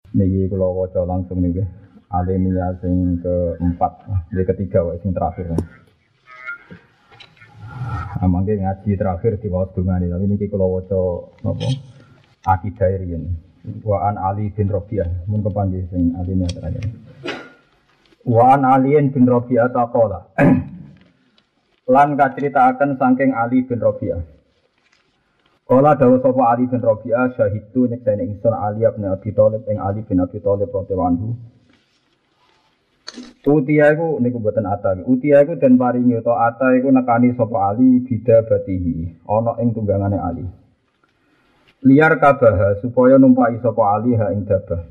Niki kula waca langsung niki. Alinea sing keempat, ketiga wae sing terakhir. Amangke ngaji terakhir di waos dungane, tapi niki kula waca napa? Akidah riyen. Wa an Ali bin Rabi'ah, mun kepanggih sing alinea terakhir. Wa an Ali bin Rabi'ah taqala. Lan kacritakaken saking Ali bin Rabi'ah. Kala dawuh sapa Ali bin Rabi'ah syahidu nyekseni ingsun Ali bin Abi Thalib ing Ali bin Abi Thalib radhiyallahu anhu. Utia iku niku mboten ata. Utia iku den paringi utawa ata iku nekani sapa Ali bidabatihi, ana ing tunggangane Ali. Liar kabaha supaya numpai sapa Ali ha ing dabah.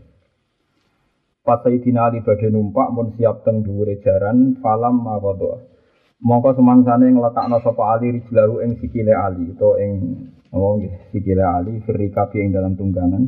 Pas Sayyidina Ali badhe numpak mun siap teng dhuwure jaran falam maqadha. Mongko semangsane ngletakna sapa Ali rijlahu ing sikile Ali utawa ing sikile Ali firikabi ing dalam tunggangan.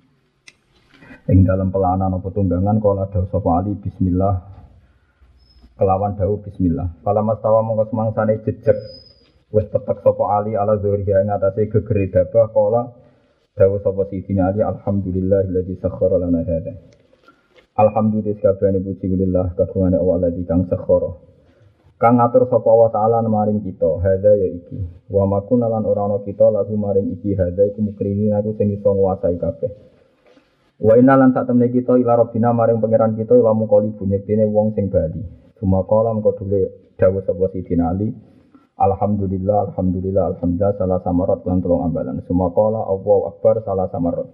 Ing dalam pelanan apa tunggangan kala dawuh sapa Ali bismillah kelawan dawuh bismillah. Fala mastawa mongko semangsane jejeg wis tetek sapa Ali ala zuhriya ing atase gegere dabah kala dawuh sapa Sayyidina Ali alhamdulillahilladzi sakhkhara lana hadza. Alhamdulillah kabehane puji lillah kagungane Allah alladzi kang sakhkhara. Kang ngatur sapa Allah taala maring kita hadza ya iki. Wa makuna lan ora ana kita lagu maring iki hadza iku mukrini aku sing iso nguasai kabeh. Wa inna lan sak temne kita ila rabbina maring pangeran kita ila mukoli bunyektene wong sing bali. Sumakala mengko dule dawuh sapa Sidina Ali. Alhamdulillah alhamdulillah alhamdulillah salah samarat lan tulung ambalan. Sumakala Allahu akbar salah samarat.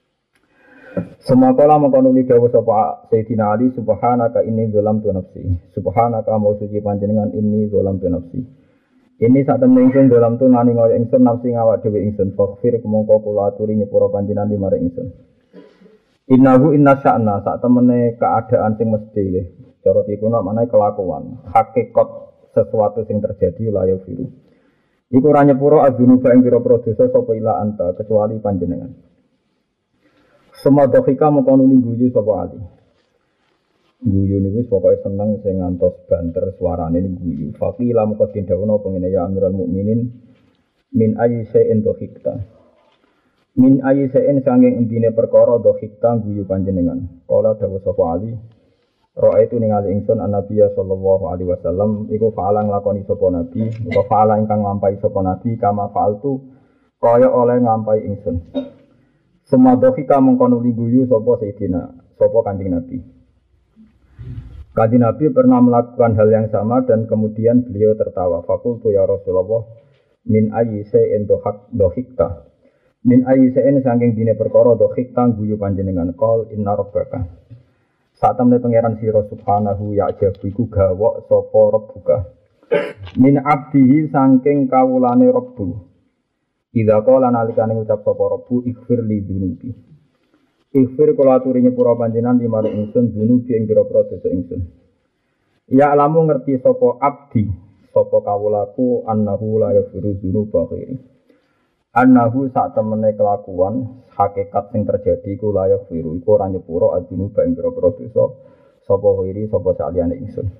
Sumakala mengko nuli dawuh sapa Sayyidina Ali subhanaka inni zalamtu nafsi. Subhanaka mau suci panjenengan inni zalamtu nafsi. Ini sak temne ingsun zalamtu ngani ngoyo ingsun nafsi ngawak dhewe ingsun faghfir mongko kula aturi nyepuro panjenengan maring ingsun. Innahu inna sya'na sak temene keadaan sing mesti nggih. Cara dikuno maknane kelakuan, hakikat sesuatu sing terjadi la yafiru. Iku ora nyepuro adzunuba ing pira-pira dosa sapa ila anta kecuali panjenengan. Semadhika mongko nuli guyu sapa Ali. Guyu niku pokoke seneng sing ngantos banter suarane niku guyu. Faqila mongko dindhawono pengene ya Amirul Mukminin min ayyi shay'in dhahikta. Min ayyisain sanging endine perkara dhahikta guyu panjenengan. Kala dawuh sapa Ali, ra'aitu ningali ingsun Nabiya sallallahu alaihi wasallam iku fa'ala nglakoni sapa nabi, utawa fa'ala ingkang nglampahi sapa nabi kama fa'altu kaya oleh nglampahi ingsun. Semua dhahika mengko nuli guyu sapa Sayyidina, sapa Kanjeng Nabi. Kanjeng Nabi pernah melakukan hal yang sama dan kemudian beliau tertawa. Faqultu ya Rasulullah min ayyisain dhahikta. Min ayyisain saking dine perkara dhahik tang guyu panjenengan qol inna rabbaka. Sak temne pangeran sira subhanahu ya ajabu iku gawok sapa rabbuka. Min abdihi saking kawulane rabbu. Idza qala nalikane ngucap sapa rabbu ighfir li dunubi. Ighfir kula aturi nyepura panjenengan limaring ingsun dunubi ing pira-pira dosa ingsun. Ya alamu ngerti sapa abdi sapa kawulaku annahu la yaghfiru dzunuba ghairi. Annahu sak temene kelakuan hakikat sing terjadi iku layak firu iku ora nyepuro adunu ing pira-pira dosa sapa wiri sapa saliyane ingsun.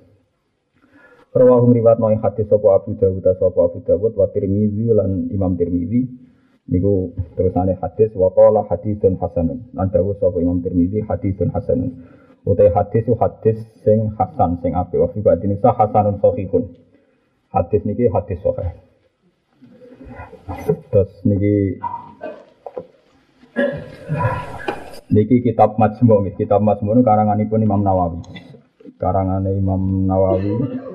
Rawahu riwayat noy hadis sapa Abu Dawud wa Tirmizi lan Imam Tirmizi niku terusane hadis wa qala haditsun hasanun lan dawuh sapa Imam Tirmizi haditsun hasanun. Utai hadis sing hasan sing apik wa fi badine hasanun sahihun. Hadis niki hadis sahih. Terus niki kitab Majmu' nggih, kitab Majmu' karanganipun Imam Nawawi. Karangane Imam Nawawi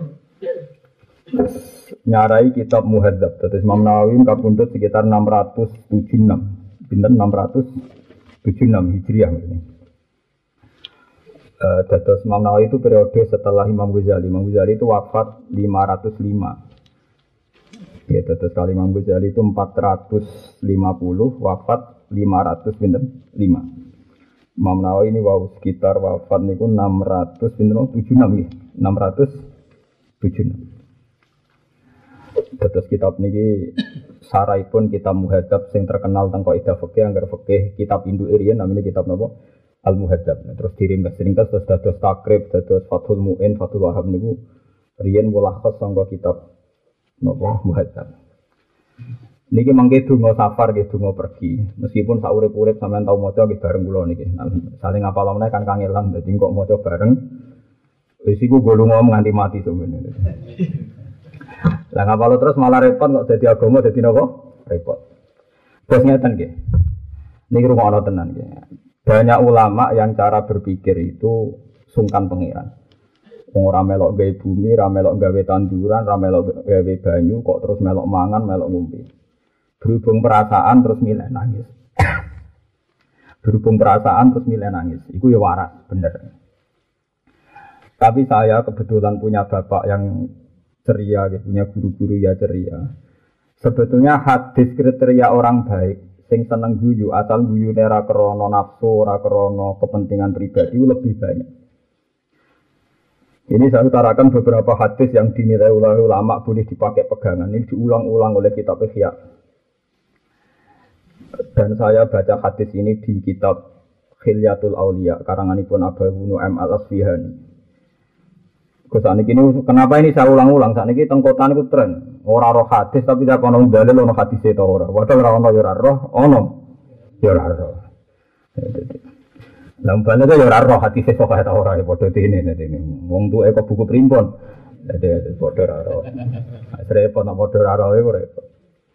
nyarai kitab Muhadzab. Terus Imam Nawawi kapundhut sekitar 676. Pinten 676 Hijriah maksudnya. Terus Imam Nawawi itu periode setelah Imam Ghazali. Imam Ghazali itu wafat 505. Ya, terus kali Imam Ghazali itu 450, wafat 505. Imam Nawawi ini sekitar wafat niku 676 ya, 676. Terus kitab niki saraipun kitab Muhadzab sing terkenal teng kaidah fikih anggar fikih kitab induk riyen namanya kitab napa Al Muhadzab. Terus diringkas terus dados takrib, dados Fathul Mu'in, Fathul Wahhab niku riyen mulakhas sangka kitab napa Muhadzab. Niki mangke donga safar nggih donga pergi. Meskipun sak urip-urip sampean tau maca nggih bareng kula niki. Saling ngapal meneh kan kangelan dadi kok maca bareng. Wis iku go lunga nganti mati sebenarnya. Lah ngapal terus malah repot kok dadi agama dadi napa? Repot. Terus ngeten nggih. Niki rumono tenan nggih. Banyak ulama yang cara berpikir itu sungkan pangeran. Wong ora melok gawe bumi, ora melok gawe tanduran, ora melok gawe banyu kok terus melok mangan, melok ngombe. Berhubung perasaan terus milih nangis. Berhubung perasaan terus milih nangis. Iku ya waras, bener. Tapi saya kebetulan punya bapak yang ceria, punya guru-guru ya ceria. Sebetulnya hadis kriteria orang baik, sing seneng guyu, asal guyune ora krana nafsu, ora krana kepentingan pribadi lebih banyak. Ini saya utarakan beberapa hadis yang dinilai ulama boleh dipakai pegangan. Ini diulang-ulang oleh kitab Ihya. Dan saya baca hadis ini di kitab Khilyatul Auliya karanganipun Abu Nu'aim Al-Asfihani. Kenapa ini saya ulang-ulang? Saat ini tengkotan itu tren. Orang roh hadis tapi tidak ono dalil ono hadis itu orang. Padahal orang ono ya roh, ono ya roh. Lamban itu ya roh hadis itu kaya orang ya bodoh ini. Wong tuh kok buku primbon. Jadi bodoh roh. Repot nak bodoh roh itu repot.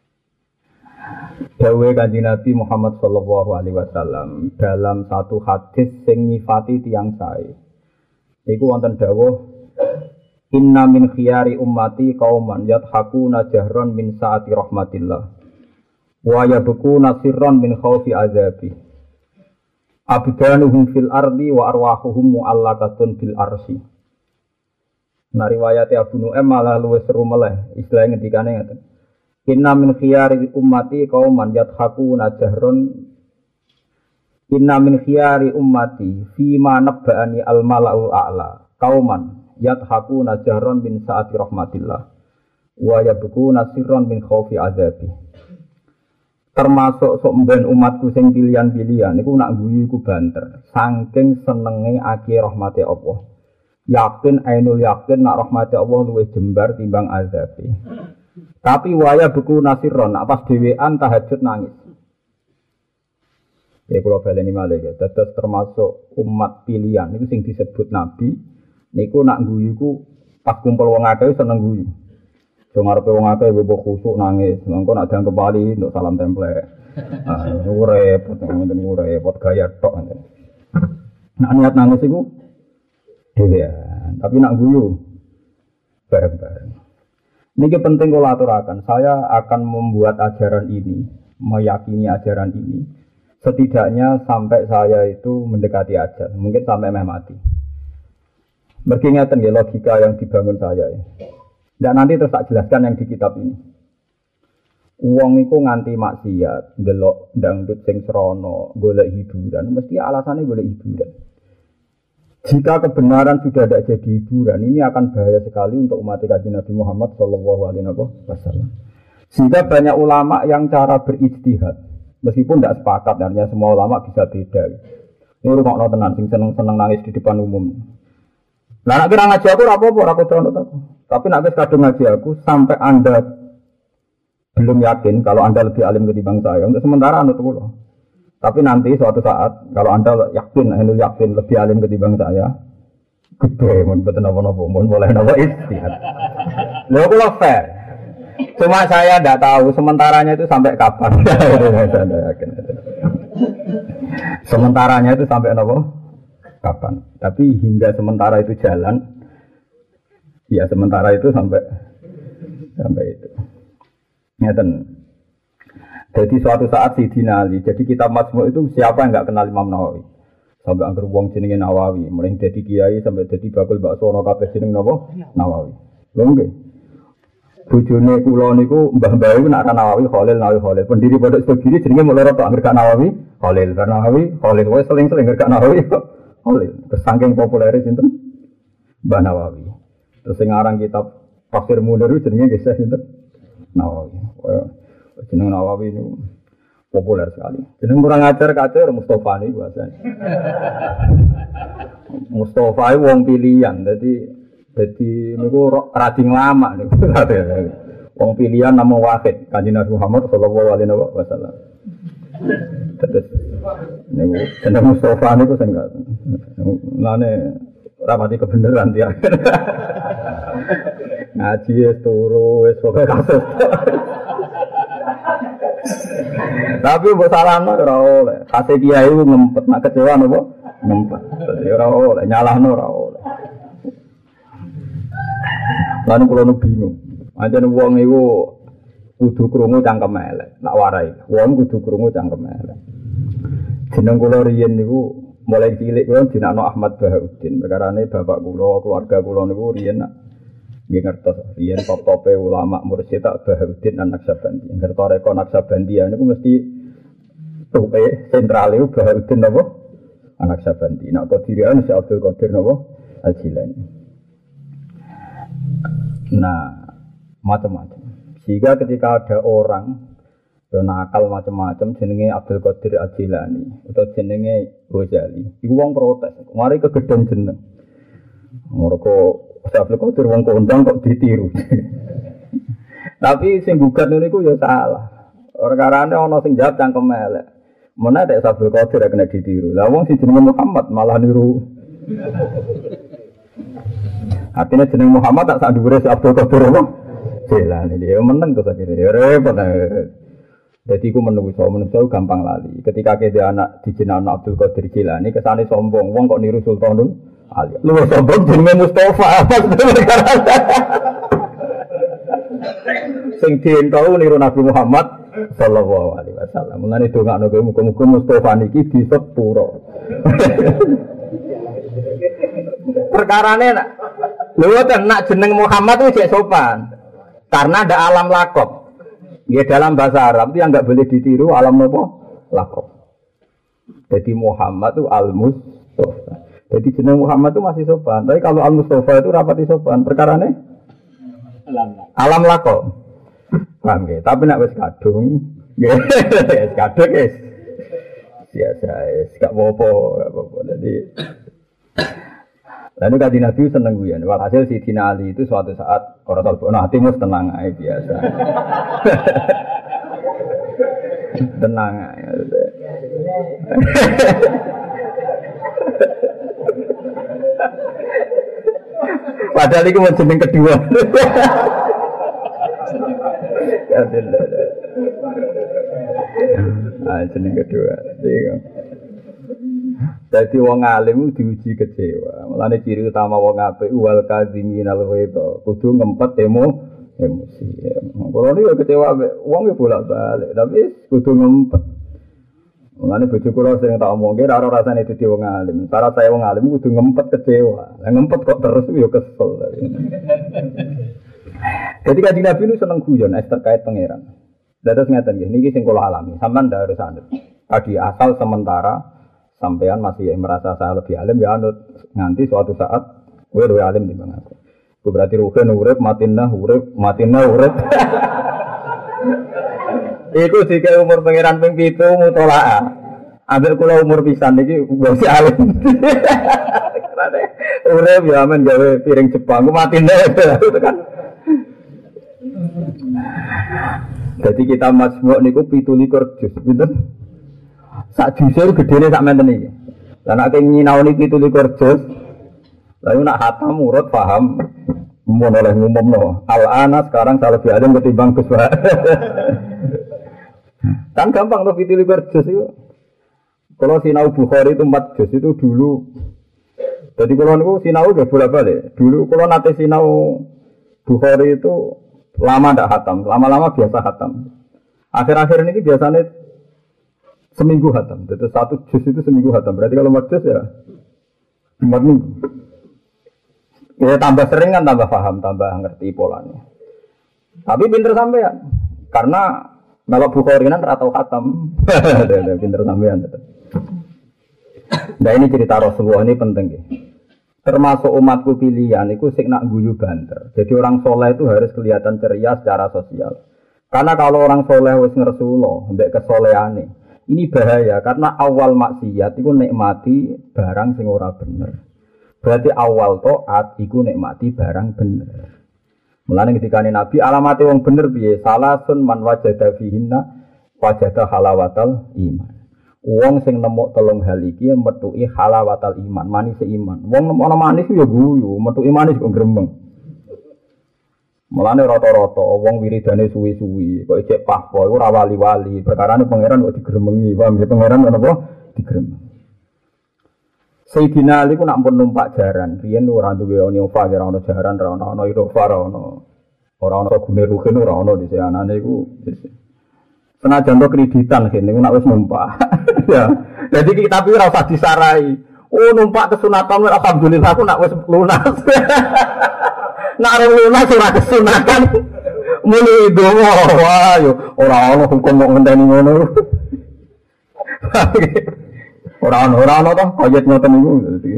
Dawuh Kanjeng Nabi Muhammad sallallahu alaihi wasallam dalam satu hadis sing nyifati tiyang sae. Iku wonten dawuh inna min khiyari ummati qauman yadhakuna jahran min saati rahmatillah wa yabkuna sirran min khaufi azabi. Abdanuhum fil ardi wa arwahuhum mu'allaqatun bil arsi. Nah riwayat Abu Nu'aim malah luwih seru meleh. Istilah ngendikane ngaten. Inna min khiyari ummati qauman yadhakuna jahran. Inna min khiyari ummati fima nabba'ani al mala'ul a'la. Qauman yadhakuna jahran min saati rahmatillah wa yabkuna sirran min khaufi azabi. Termasuk sok mben umatku sing pilihan-pilihan niku nak guyu iku banter saking senenge akeh rahmate Allah. Yakin ainul yakin nak rahmate Allah luwih jembar timbang azabe. Tapi waya buku nasirron nak pas dhewean tahajud nangis. Ya kula baleni malih ya, dados termasuk umat pilihan niku sing disebut nabi niku nak guyu iku pas kumpul wong akeh seneng guyu. Wong arepe wong akeh mbok khusuk nangis, mengko nak dianggep wali untuk salam templek. Ah, repot, ngoten repot gaya tok. Nak niat nangis iku dhewean, tapi nak guyu bareng-bareng. Niki penting kula aturaken. Saya akan membuat ajaran ini, meyakini ajaran ini setidaknya sampai saya itu mendekati ajal, mungkin sampai mati. Mergi ngeten nggih logika yang dibangun saya ya. Dan nanti terus tak jelaskan yang di kitab ini. Wong iku nganti maksiat, ndelok dangdut sing srana, golek hiburan, mesti alasannya golek hiburan. Jika kebenaran sudah tidak jadi hiburan, ini akan bahaya sekali untuk umat Kanjeng Nabi Muhammad sallallahu alaihi wasallam. Sehingga banyak ulama yang cara berijtihad, meskipun tidak sepakat, artinya semua ulama bisa beda. Ini rungokno tenan sing seneng-seneng nangis di depan umum. Lah nek kira ngaji aku ora apa-apa, ora kudu aku. Tapi nek wis kadung ngaji aku sampai Anda belum yakin kalau Anda lebih alim ketimbang saya, untuk sementara anut kula. Tapi nanti suatu saat kalau Anda yakin, lebih alim ketimbang saya, gede mun boten napa-napa, mun boleh napa istihad. Lha kula fair. Cuma saya tidak tahu sementaranya itu sampai kapan. Saya yakin. Sementaranya itu sampai napa? Kapan? Tapi hingga sementara itu jalan. Ya sementara itu sampai itu. Ngeten. Jadi suatu saat Sidina Ali. Jadi kitab Majmu' itu siapa yang enggak kenal Imam Nawawi? Sampai angger wong jenenge Nawawi, mulai dadi kiai sampai dadi bakul bakso ana kabeh jeneng napa? Nawawi. Lho nggih. Bojone kula niku mbah-mbah iku nak Nawawi Khalil. Pendiri pondok Sugiri jenenge mung loro tok angger gak Nawawi Khalil. Karena Nawawi Khalil wis seling-seling gak Nawawi Khalil. Saking populere sinten? Mbah Nawawi. Terus sing aran kitab Tafsir Munir jenenge nggih sinten? Nawawi. Jeneng Nawawi niku populer sekali. Jeneng kurang ajar kacir Mustofa niku bahasane. Mustofa wong pilihan. Jadi niku rading lama niku. Wong pilihan nama wahid Kanjeng Nabi Muhammad sallallahu alaihi wasallam. Terus niku jeneng Mustofa niku sing lane rapati kebenaran dia. Ngaji turu wis pokoke kasus. Tapi mbok salahno ora oleh. Kase kiai ku ngempet, nek kecewa napa? Ngempet. Dadi ora oleh, nyalahno ora oleh. Lan kula nu bingung. Ancen wong iku kudu krungu cangkem elek, tak warai. Wong kudu krungu cangkem elek. Jeneng kula riyen niku mulai cilik kula dinakno Ahmad Bahauddin. Perkarane bapak kula, keluarga kula niku riyen nggih ngertos riyen top-tope ulama mursyid tak Bahauddin An-Naksabandi. Ngertos reko Naksabandi niku mesti tope sentral iku Bahauddin napa? An-Naksabandi. Nek Qadirian si Abdul Qadir napa? Al-Jilani. Nah, macam-macam. Sehingga ketika ada orang yang nakal macam-macam jenenge Abdul Qadir Al-Jilani atau jenenge Ghazali, iku wong protes. Mari kegedhen jeneng. Mergo Abdul Qadir wong kondang kok ditiru. Tapi sing gugat niku ya salah. Perkarane ana sing jawab cangkem elek. Mana nek Abdul Qadir kena ditiru. Lah wong sing jenenge Muhammad malah niru. Artinya jeneng Muhammad tak sak dhuwure Abdul Qadir apa? Jilani dia meneng to sakire. Ya repot. Dadi ku menungso gampang lali. Ketika dia anak dijenengan Abdul Qadir Jilani kesane sombong, wong kok niru Sultanul Ali. Lu sombong jenenge Mustafa. Sing dientau niru Nabi Muhammad sallallahu alaihi wasallam. Mulane dongakno kowe muga-muga Mustafa niki disepuro. Perkarane nak lho nak jeneng Muhammad itu jek sopan. Karena ada alam lakob. Ya dalam bahasa Arab itu yang enggak boleh ditiru alam apa? Lakob. Jadi Muhammad itu Al-Mustafa. Jadi jeneng Muhammad itu masih sopan. Tapi kalau Al-Mustafa itu rapati sopan. Perkarane alam lakob. Paham ya? Tapi nak wis kadung, wis kadung wis biasa, wis gak apa-apa. Jadi lalu Kanjeng Nabi seneng guyon. Walhasil Sidina Ali itu suatu saat ora tau ono hatimu tenang ae biasa. Tenang ae. Padahal itu mau jeneng kedua. Jeneng kedua. Jadi wong alim diuji kecewa. Mulane ciri utama wong apik wal kadziminal ghaidha. Kudu ngempet emosi. Kalau ini kecewa wong ya bolak-balik, tapi kudu ngempet. Mulane bojo kula sering tak omongke ora rasane dadi wong alim. Cara saya wong alim kudu ngempet kecewa. Lah ngempet kok terus ya kesel. Jadi Kanjeng Nabi itu seneng guyon terkait pangeran. Dados ngeten nggih, niki sing kula alami. Sampeyan ndak harus anut. Tadi asal sementara sampean masih merasa saya lebih alim ya anut nganti suatu saat kowe luwih alim timbang aku. Ku berarti ruhen urip matinah urip. Iku dike umur pangeran ping 7 mutolaah. Ambek kula umur pisan iki wis alim. Urip ya men gawe piring Jepang ku matinah itu kan. Jadi kita majmu' niku 17 juz, pinten? Sak juz gedene sak menten iki. Lah nek nyinaoni 17 juz, lalu nak hatam urut paham mun oleh ngumumno. Al-ana sekarang saya lebih alim ketimbang Gus Wa. Kan gampang to 17 juz itu. Kalau sinau Bukhari itu 4 juz itu dulu. Jadi kalau niku sinau udah bolak-balik. Dulu kalau nate sinau Bukhari itu lama ndak hatam, lama-lama biasa hatam. Akhir-akhir ini biasanya seminggu hatam. Jadi 1 juz itu seminggu hatam. Berarti kalau 4 juz ya 4 minggu. Ya tambah sering kan tambah paham, tambah ngerti polanya. Tapi pinter sampean. Karena kalau Bukhari kan atau hatam. Pinter sampean. Nah ini cerita Rasulullah ini penting ya. Termasuk umatku pilihan itu sing nak guyu banter. Jadi orang soleh itu harus kelihatan ceria secara sosial. Karena kalau orang soleh wis ngersulo, mbek kesolehane, ini bahaya karena awal maksiat itu nikmati barang sing ora bener. Berarti awal taat iku nikmati barang bener. Mulane ketika Nabi alamate wong bener piye? Salasun man wajada fihinna wajada halawatal iman. Wong sing nemu telung hal iki metuki halawatal iman, manis iman. Wong nemu ana manis ya guyu, metuki manis kok gremeng. Mulane rata-rata wong wiridane suwi-suwi, kok ijek pahpo iku ora wali-wali, perkarane pangeran kok digremengi, paham ya pangeran kenapa digremeng. Sayyidina Ali ku nak pun numpak jaran, riyen ora duwe Innova, ora ono jaran, ora ono Innova, ora ono gune rugen ora ono dise anane iku. Senajan to kreditan kene nak wis numpak. Ya. Jadi kita tapi ora usah disarai. Oh numpak kesunatan alhamdulillah aku nak wis lunas. Nak lunas ora kesunatan. Muni donga wah yo ora ono hukum kok ngenteni ngono. Ora ono to koyet ngoten niku.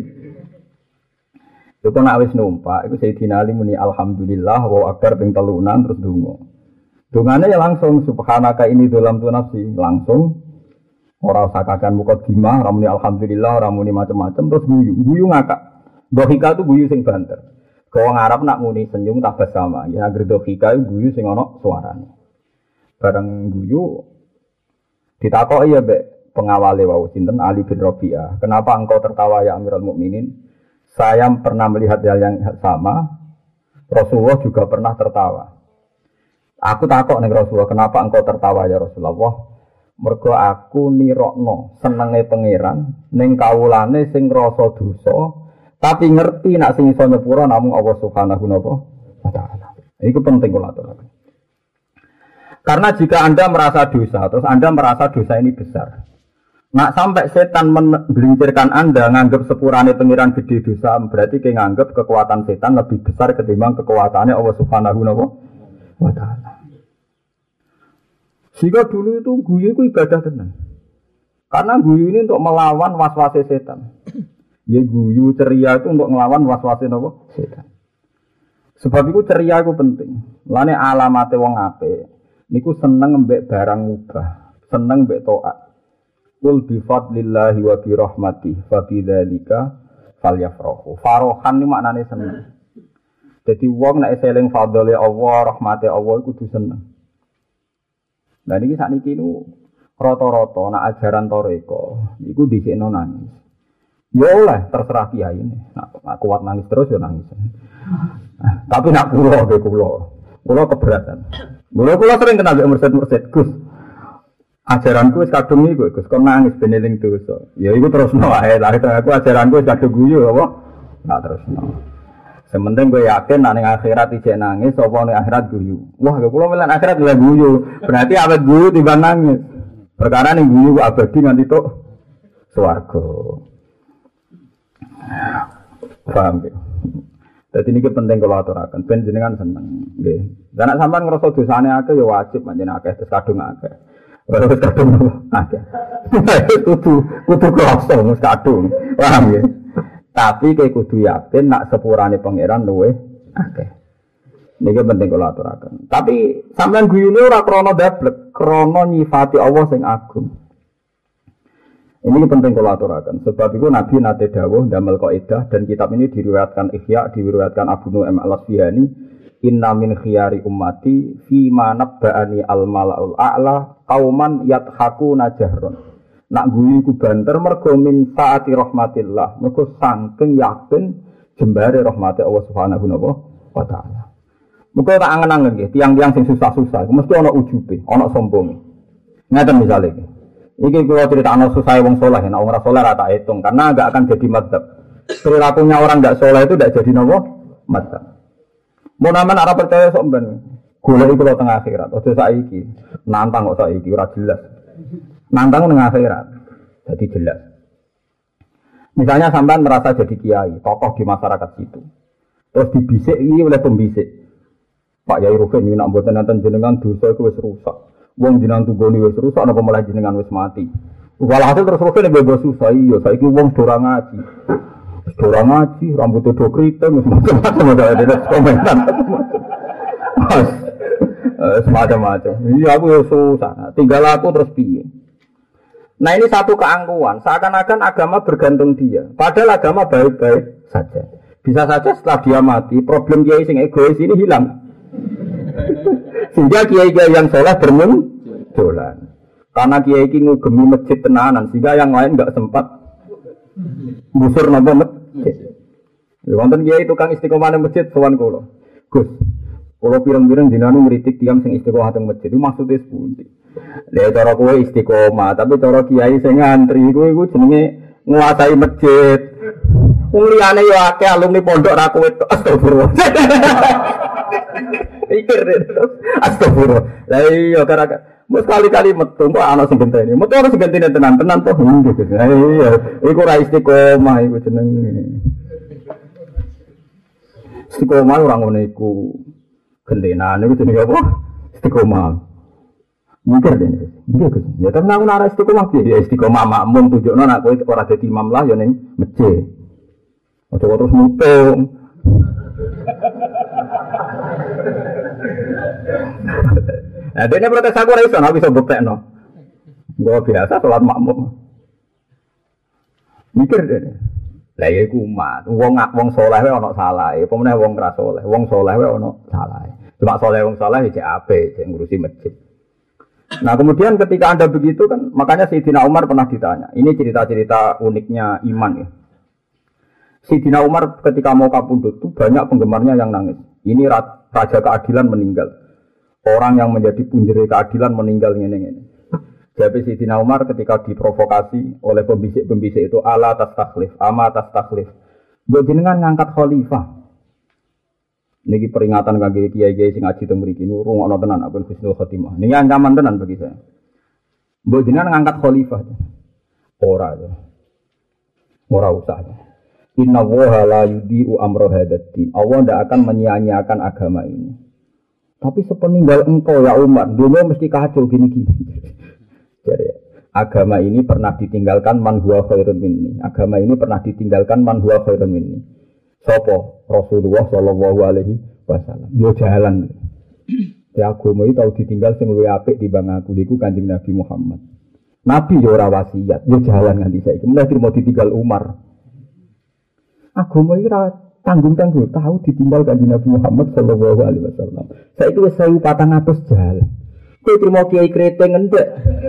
Iku nak wis numpak iku Sayyidina Ali muni alhamdulillah wa akbar ping telunan terus donga. Dongane ya langsung subhanaka ini dalam tu nafsi langsung ora usah kakan mukadimah ora muni alhamdulillah ora muni macam-macam terus guyu ngakak. Dohika itu guyu sing banter. Wong Arab nak muni senyum tabas sama. Ya anggere dohika guyu sing ana suarane. Bareng guyu ditakoki ya Mbak pengawale wau sinten Ali bin Rabi'ah. Kenapa engkau tertawa ya Amirul Mukminin? Saya pernah melihat hal yang sama. Rasulullah juga pernah tertawa. Aku takok ning Rasulullah, kenapa engkau tertawa ya Rasulullah? Mergo aku nirokno senenge pangeran ning kawulane sing rasa dosa, tapi ngerti nak sing iso nyepura namung Allah Subhanahu wa taala. Iku penting kula aturaken. Karena jika Anda merasa dosa, terus Anda merasa dosa ini besar. Nak sampai setan menggelincirkan Anda nganggap sepurane pangeran gede dosa, berarti kayak nganggap kekuatan setan lebih besar ketimbang kekuatannya Allah Subhanahu wa taala. Jika dulu itu guyu itu ibadah tenan. Karena guyu ini untuk melawan waswase setan. Ya guyu ceria itu untuk melawan waswase setan. Sebab itu ceria itu penting. Lane alamate wong apik niku seneng mbek barang mubah, seneng mbek taat. Qul bi fadlillahi wa bi rahmatihi fa bidzalika falyafrahu. Farohan ni maknane seneng. Jadi wong nek eling fadhole Allah, rahmate Allah iku kudu seneng. Lah niki sakniki niku rata-rata nek ajaran toreko iku dhisikno nangis. Ya oleh terserah kiai ini. Nak kuat nangis terus ya nangis. Tapi nak kula keberatan. Kula sering kenal mbek mursid-mursid, Gus. Ajaranku wis kadung iku, Gus, kon nangis ben eling dosa. Ya iku terusno wae. Lah aku ajaranku wis kadung guyu apa? Nak terusno. Sementing gue yakin nek ning akhirat ijek nangis apa ning akhirat guyu. Wah, kula melan akhirat lha guyu. Berarti awet guyu timbang nangis. Perkara ning guyu abadi nganti tok swarga. Paham ya? Dadi niki penting kula aturaken ben jenengan seneng nggih. Lah nek sampean ngrasa dosane akeh ya wajib panjenengan akeh terus kadung akeh. Ora terus kadung akeh. Kudu krasa mesti kadung. Paham ya? Tapi kayak kudu yakin nak sepurane pangeran luweh akeh. Niki penting kula aturaken. Tapi sampean guyune ora krana dablek, krana nyifati Allah sing agung. Ini penting kula aturaken. Sebab itu Nabi nate dawuh damel kaidah dan kitab ini diriwayatkan Ihya, diriwayatkan Abu Nu'aim al-Asfihani, inna min khiyari ummati fi ma nabba'ani al-mala'ul a'la qauman yathakuna jahron. Nak guyu ku banter mergo min taati rahmatillah, mergo saking yakin jembare rahmate Allah Subhanahu wa taala. Muga tak angen-angen nggih, tiang-tiang sing susah-susah, mesti ana ujube, ana sombonge. Ngaten misale iki. Iki kula critakno susah wong saleh, nek ora saleh ra tak hitung karena enggak akan jadi madzhab. Perilakunya orang enggak saleh itu enggak jadi napa? Madzhab. Mun aman ora percaya sok ben. Goleki kula teng akhirat, aja saiki. Nantang kok saiki ora jelas. Nantang nang akhirat. Jadi jelas. Misalnya sampean merasa jadi kiai, tokoh di masyarakat situ. Terus dibisiki oleh pembisik. Pak Yai Rufen nak mboten nenten jenengan dosa iku wis rusak. Wong jenengan tunggone wis rusak napa malah jenengan wis mati. Walhasil terus Rufen bebas susah iya, saiki wong ora ngaji. Ora ngaji, rambut do kriting wis macam-macam ada komentar. Semacam-macam. Iya aku ya susah. Tinggal aku terus piye? Nah ini satu keangkuhan, seakan-akan agama bergantung dia. Padahal agama baik-baik saja. Bisa saja setelah dia mati, problem kiai sing egois ini hilang. Sehingga kiai-kiai yang soleh bermunculan. Karena kiai iki ngugemi masjid tenanan, sehingga yang lain enggak sempat busur napa masjid. Wonten kiai tukang istiqomah nang masjid sowan kula. Gus, kula pireng-pireng dinanu ngritik tiyang sing istiqomah teng masjid. Itu maksude sepundi? Lah cara kowe istiqomah, tapi cara kiai sing ngantri iku jenenge nguasai masjid. Wong liyane yo akeh alumni pondok ra kowe astagfirullah. Pikir astagfirullah. Lah iya gara-gara mus kali-kali metu kok ana sing genteni. Metu ana sing genteni tenan toh nggih. Lah iya, iku ra istiqomah iku jenenge. Istiqomah ora ngono iku. Gentenan iku jenenge apa? Istiqomah. Mikir dene. Nggih Gus. Ya tenan aku ora istiqomah piye? Ya istiqomah makmum tunjukno nek kowe ora dadi imam lah ya ning masjid. Aja terus mutung. Nah, dene protes aku ora iso, ora bisa buktekno. Gua biasa salat makmum. Mikir dene. Lah ya iku umat, wong saleh wae ana salahe, apa meneh wong ra saleh. Wong saleh wae ana salahe. Cuma saleh wong saleh ya cek apik, cek ngurusi masjid. Nah, kemudian ketika Anda begitu kan, makanya Sayyidina Umar pernah ditanya. Ini cerita-cerita uniknya iman ya. Sayyidina Umar ketika mau kapundhut itu banyak penggemarnya yang nangis. Ini raja keadilan meninggal. Orang yang menjadi punjere keadilan meninggal ngene-ngene. Jadi Sayyidina Umar ketika diprovokasi oleh pembisik-pembisik itu ala tastakhlif, ama tastakhlif. Mbok jenengan ngangkat khalifah. Niki peringatan kangge kiai-kiai sing ngaji teng mriki niku rungokno tenan apa husnul khotimah. Niki ancaman tenan bagi saya. Mbok jenengan ngangkat khalifah. Ora ya. Ora usah. Inna woha la yudi'u amro hadatin. Allah tidak akan menyia-nyiakan agama ini. Tapi sepeninggal engkau ya umat, dunia mesti kacau gini-gini. Jadi agama ini pernah ditinggalkan man huwa khairun minni. Agama ini pernah ditinggalkan man huwa khairun minni. Sopo Rasulullah sallallahu alaihi wasallam. Yo jalan. Ya agama itu tahu ditinggal sing luwih apik timbang aku iku Kanjeng Nabi Muhammad. Nabi yo ora wasiat, yo jalan nganti saiki. Mulai mau ditinggal Umar. Agama iki ora tanggung-tanggung tahu ditinggal Kanjeng Nabi Muhammad sallallahu alaihi wasallam. Saiki wis 1400 jalan. Kowe trimo kiai kreteng endek.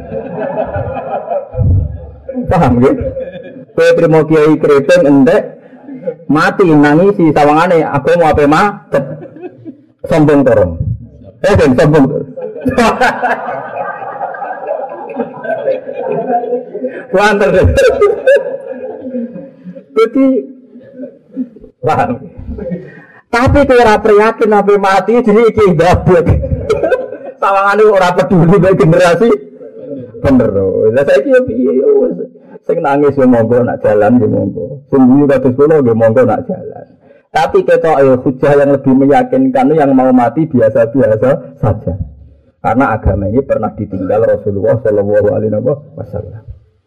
Paham nggih? Kowe trimo kiai kreteng endek mati nangisi sawangane agama ape macet. Sombong torong. Sombong. Kuantar. Jadi paham. Tapi kowe ora prihatin ape mati jenenge iki ndabut. Sawangane ora peduli mek generasi bener. Lah saiki yo piye yo sing nangis yo monggo nak jalan yo monggo. Sing guyu kados kula yo monggo nak jalan. Tapi ketok hujah yang lebih meyakinkan yang mau mati biasa-biasa saja. Karena agama ini pernah ditinggal Rasulullah sallallahu alaihi wasallam.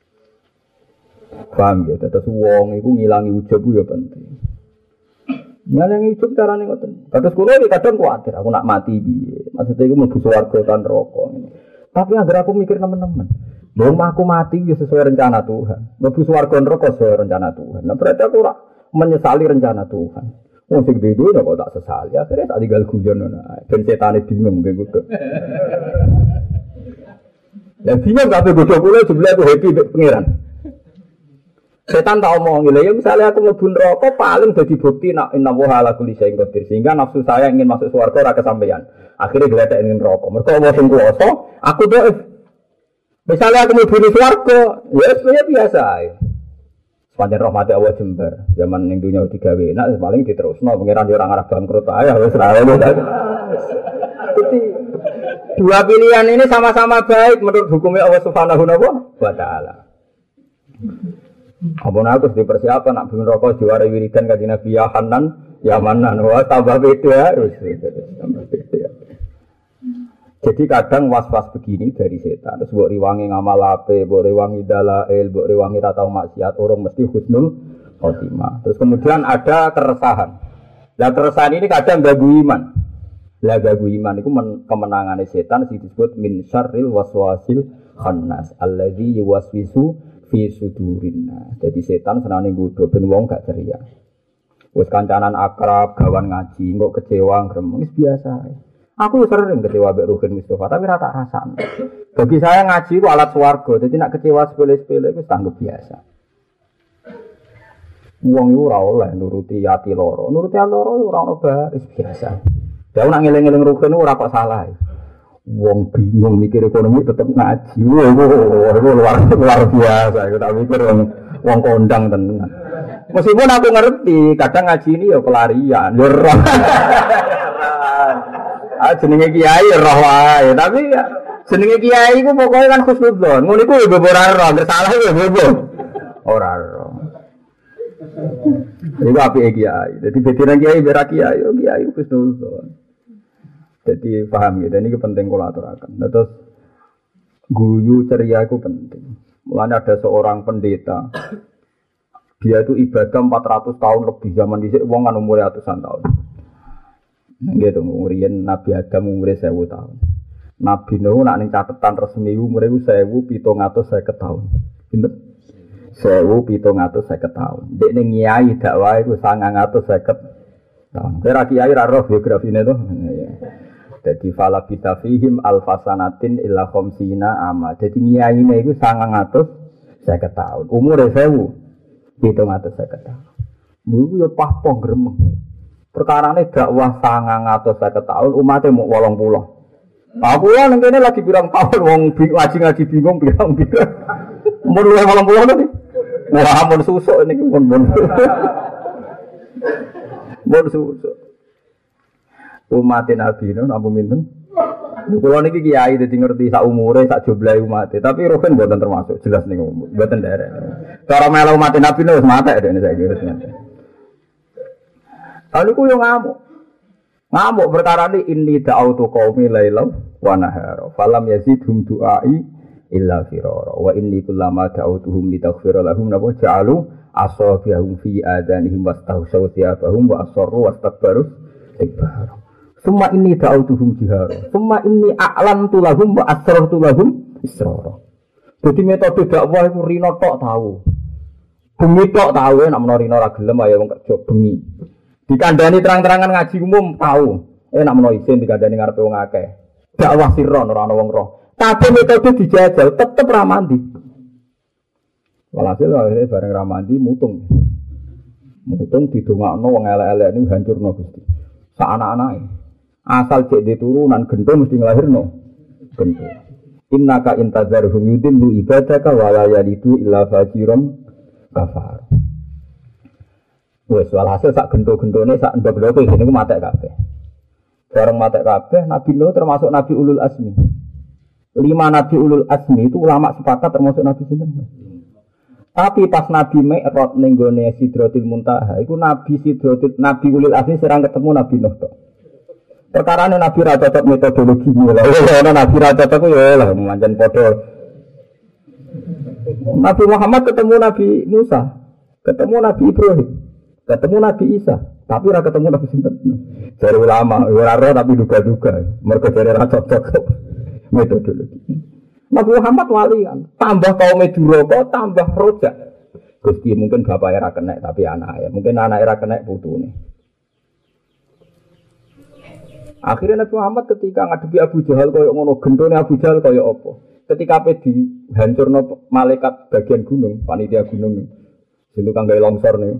Paham ya, terus wong iku ngilangi ujub ya penting. Ngilangi ujub carane ngoten. Kados kula iki kadang kuwatir aku nak mati piye. Maksudnya iku mlebu swarga tan neraka. Tapi agar aku mikir teman-teman. Wong aku mati ya sesuai rencana Tuhan. Mlebu swarga neraka sesuai rencana Tuhan. Nah berarti aku ora menyesali rencana Tuhan. Wong sing duwe kok tak sesali. Akhirnya tak tinggal guyon ngono ae. Ben setane bingung nggih kudu. Ya bingung kabeh bodho kula jebule aku happy mek pangeran. Setan tak omong lho ya misalnya aku mlebu neraka paling dadi bukti nak inna wa ala kulli syai'in qadir sehingga nafsu saya ingin masuk swarga ora kesampaian. Akhirnya gledek ning neraka. Mergo wong sing kuwasa aku dhaif. Misalnya aku mlebu swarga, ya sebenarnya biasa ae. Pancen rahmat Allah jembar. Zaman ning dunya digawe enak paling diterusno pangeran yo ora ngarep bangkrut ae wis ra ono. Jadi dua pilihan ini sama-sama baik menurut hukumnya Allah Subhanahu wa taala. Apa nak terus dipersiapkan nak bin rokok juara wiridan kanjeng Nabi ya Hanan ya Manan wah tambah beda tambah beda. Jadi kadang was-was begini dari setan terus mbok riwangi ngamal ape, mbok riwangi dalail, mbok riwangi ra tau maksiat orang mesti husnul khotimah. Terus kemudian ada keresahan. Lah keresahan ini kadang ganggu iman. Lah ganggu iman itu kemenangane setan sing disebut min syarril waswasil khannas alladzi yuwaswisu fi sudurinna. Jadi setan senane nggodho ben wong gak ceria. Wis kancanan akrab, gawan ngaji, kok kecewa gremeng wis biasa. Aku sering kecewa mbek Ruhin Mustafa, tapi rata rasane. Bagi saya ngaji itu alat swarga, jadi nak kecewa sepele-sepele itu tanggap biasa. Wong iku ora oleh nuruti ati loro. Nuruti ati loro ora ono baris biasa. Ya nak ngeling-eling Ruhin ora kok salah. Wong bingung mikir ekonomi tetep ngaji. Itu luar biasa. Aku tak mikir wong kondang tenan. Meskipun aku ngerti, kadang ngaji ini ya pelarian. Ya roh. Jenenge kiai roh wae, tapi ya jenenge kiai ku pokoke kan khusnudzon. Ngono iku ya ora roh, nek salah ya bobo. Ora roh. Iku apike kiai. Dadi bedane kiai bera kiai, yo kiai khusnudzon. Jadi paham ya, dan ini penting kalau aturakan. Nah, terus guyu ceria itu penting. Mulanya ada seorang pendeta, dia itu ibadah 400 tahun lebih zaman dhisik wong kan umure ratusan tahun. Gitu, umurian Nabi Adam umure 1000 tahun. Nabi Nuh nak ning catetan resmi umure 1750 tahun. Pinten? 1750 tahun. Dek ning nyai dakwah iku 950 tahun. Kira kiai ra roh biografine to. Jadi fala kita fihim alfasanatin illa khamsina ama. Jadi nyaine iku 950 tahun. Umure 1750 tahun. Iku yo pahpoh gremeng. Perkarane dakwah 950 tahun umatnya mau 80. Aku ya nang kene lagi pirang tahun wong ngaji bingung pirang-pirang. Mun 80 tadi. Wah, mun susuk niki mun. Mun susuk. Umat Nabi itu apa minten? Kalau niki kiai jadi ngerti sak umure sak jumlah umat, tapi Ruhin buatan termasuk jelas nih buatan daerah. Kalau melu umat Nabi itu mata ada ini saya kira. Lalu ku yang ngamuk perkara ini da'autu qaumi lailam wa nahara falam yazidhum du'ai illa firara wa inni kullama da'autuhum litaghfira lahum nabu ja'alu asabiahum fi adanihim wastahsaw thiyabahum wa asarru wastakbaru istikbara. Semua ini da'autuhum jihara. Semua ini a'lantu lahum wa asrartu lahum israra. Jadi metode dakwah itu rino tok tahu. Bengi tok tahu nek menawa rino ra gelem ayo wong kerja bengi. Dikandani terang-terangan ngaji umum tahu. Nek menawa isin dikandani ngarepe wong akeh. Dakwah sirron ora ana wong roh. Tapi metode dijajal tetep ra mandi. Walhasil akhirnya bareng ra mandi mutung. Mutung didongakno wong elek-elek niku hancurno Gusti. Sak anak-anake. Asal cek di turunan gento mesti ngelahirno gento. Innaka intazarhum yudillu ibadaka wa la yalidu illa fajiran kafar. Wes walhasil sak gento-gentone sak ndok-ndoke ngene ku matek kabeh. Bareng matek kabeh Nabi Nuh termasuk Nabi Ulul Azmi. 5 Nabi Ulul Azmi itu ulama sepakat termasuk Nabi sinten. Tapi pas Nabi Mi'raj ning gone Sidratil Muntaha iku Nabi Ulul Azmi serang ketemu Nabi Nuh tok. Perkara ini Nabi Raja cocok metodologi lah. Nabi Raja cocok ya lah, manjan podo. Nabi Muhammad ketemu Nabi Musa, ketemu Nabi Ibrahim, ketemu Nabi Isa, tapi ora ketemu Nabi sinten. Dari ulama, ora roh tapi duga-duga. Mergo dari Raja cocok metodologi. Nabi Muhammad walian, tambah kaum Duraka, tambah rojak. Gusti mungkin bapaknya ra kenek tapi anaknya, mungkin anaknya ra kenek putune. Akhirnya Nabi Muhammad ketika ngadepi Abu Jahal kaya ngono, gendone Abu Jahal kaya apa? Ketika ape dihancurno malaikat bagian gunung, panitia gunung. Situ kang gawe longsor niku.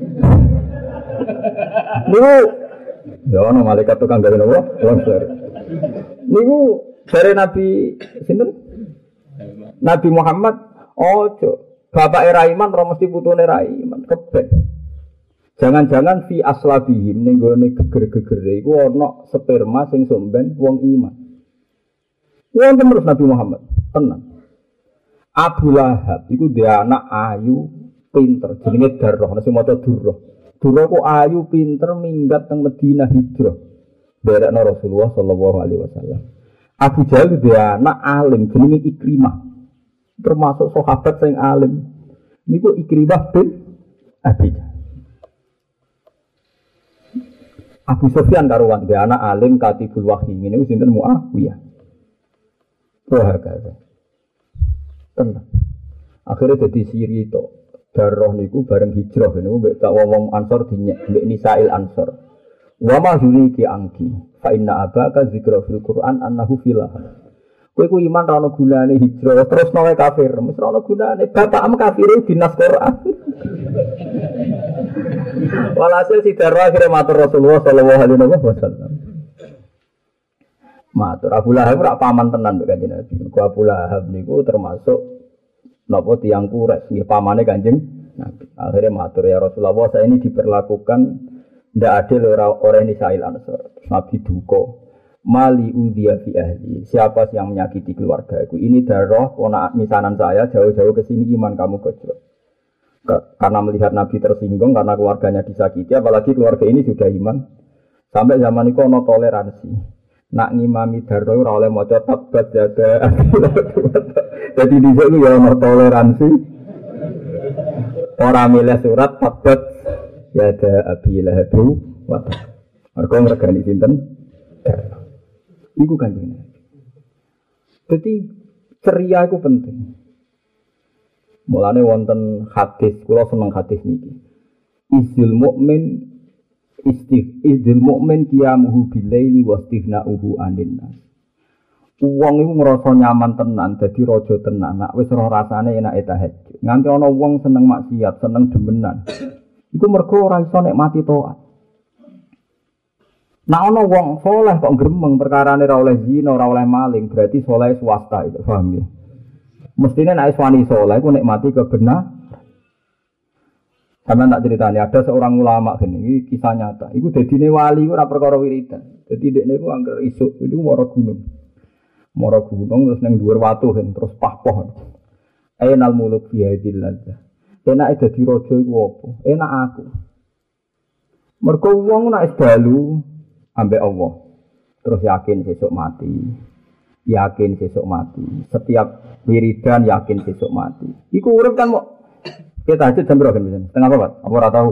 Niku ya ono malaikat tukang gawe napa? Longsor. Niku dari Nabi sinten? Nabi Muhammad ojo. Bapak Raiman ora mesti putune Raiman, kebek. Jangan-jangan fi aslabihim ning gone geger-gegere iku ana sperma sing somben wong iman. Wong terus Nabi Muhammad, tenang. Abu Lahab iku dia anak ayu, pinter, jenenge Darrah, sing maca Durrah. Durrah ku ayu, pinter, minggat teng Madinah hijrah. Berekno Rasulullah sallallahu alaihi wasallam. Abu Jahal dia anak alim, jenenge Ikrimah. Termasuk sahabat sing alim. Niku Ikrimah bin Abi Jahal. Abu Sufyan karuan dia anak alim katibul wahyi ngene wis sinten Muawiyah. Wah kaya. Tenang. Akhirnya dadi siri to. Darah niku bareng hijrah niku mbek tak wong Ansor dinyek mbek Nisail Ansor. Wa ma yuriki angki Fa inna abaka zikra fil Qur'an annahu filah. Kowe ku iman ra ono gunane hijrah terus nawe kafir. Mesti ra ono gunane bapakmu kafir dinas Qur'an. Walhasil Sidarwa akhirnya matur Rasulullah sallallahu alaihi wasallam. Matur Abu Lahab ora paman tenan mbek Kanjeng Nabi. Abu Lahab niku termasuk napa tiyang Quraisy nggih pamane Kanjeng Nabi. Akhirnya matur ya Rasulullah, saya ini diperlakukan ndak adil orang Nisail Ansor. Nabi duka. Mali udhiya fi ahli. Siapa yang menyakiti keluargaku? Ini darah ponak misanan saya jauh-jauh ke sini iman kamu gojlok. Karena melihat Nabi tersinggung karena keluarganya disakiti, apalagi keluarga ini sudah iman. Sampai zaman itu ono toleransi. Nak ngimami darah ora oleh maca tabat jaga. Jadi di sini ya ono toleransi. Ora milih surat tabat jaga Abi Lahab wa ta. Mergo ngregani sinten? Iku Kanjeng Nabi. Jadi ceria itu penting. Mulane wonten hadis, kula seneng hadis niki. Izil mukmin qiyamuhu bilaili wa istighna'uhu 'anil nas. Wong iku ngrasa nyaman tenan, dadi raja tenan, nek wis ora rasane enake tahajud. Nganti ana wong seneng maksiat, seneng demenan. Iku mergo ora iso nikmati taat. Nek ana wong saleh kok gremeng perkarane ora oleh zina, ora oleh maling, berarti saleh swasta itu, paham ya? Mestine nek wani saleh ku nikmati kebenaran. Sampeyan tak ceritani ada seorang ulama gini, iki kisah nyata. Iku dadine wali ku ora perkara wiridan. Dadi dekne ku angger isuk itu mara gunung. Mara gunung terus ning dhuwur watu terus pah-poh. Ainal muluk fi hadil ladzah. Enake dadi raja iku apa? Enak aku. Mergo wong nek dalu ambek Allah. Terus yakin sesuk mati. Yakin sesuk mati. Setiap wiridan yakin sesuk mati. Iku urip kan kok kita tahajud jam berapa kan misalnya? Setengah apa? Apa ora tahu?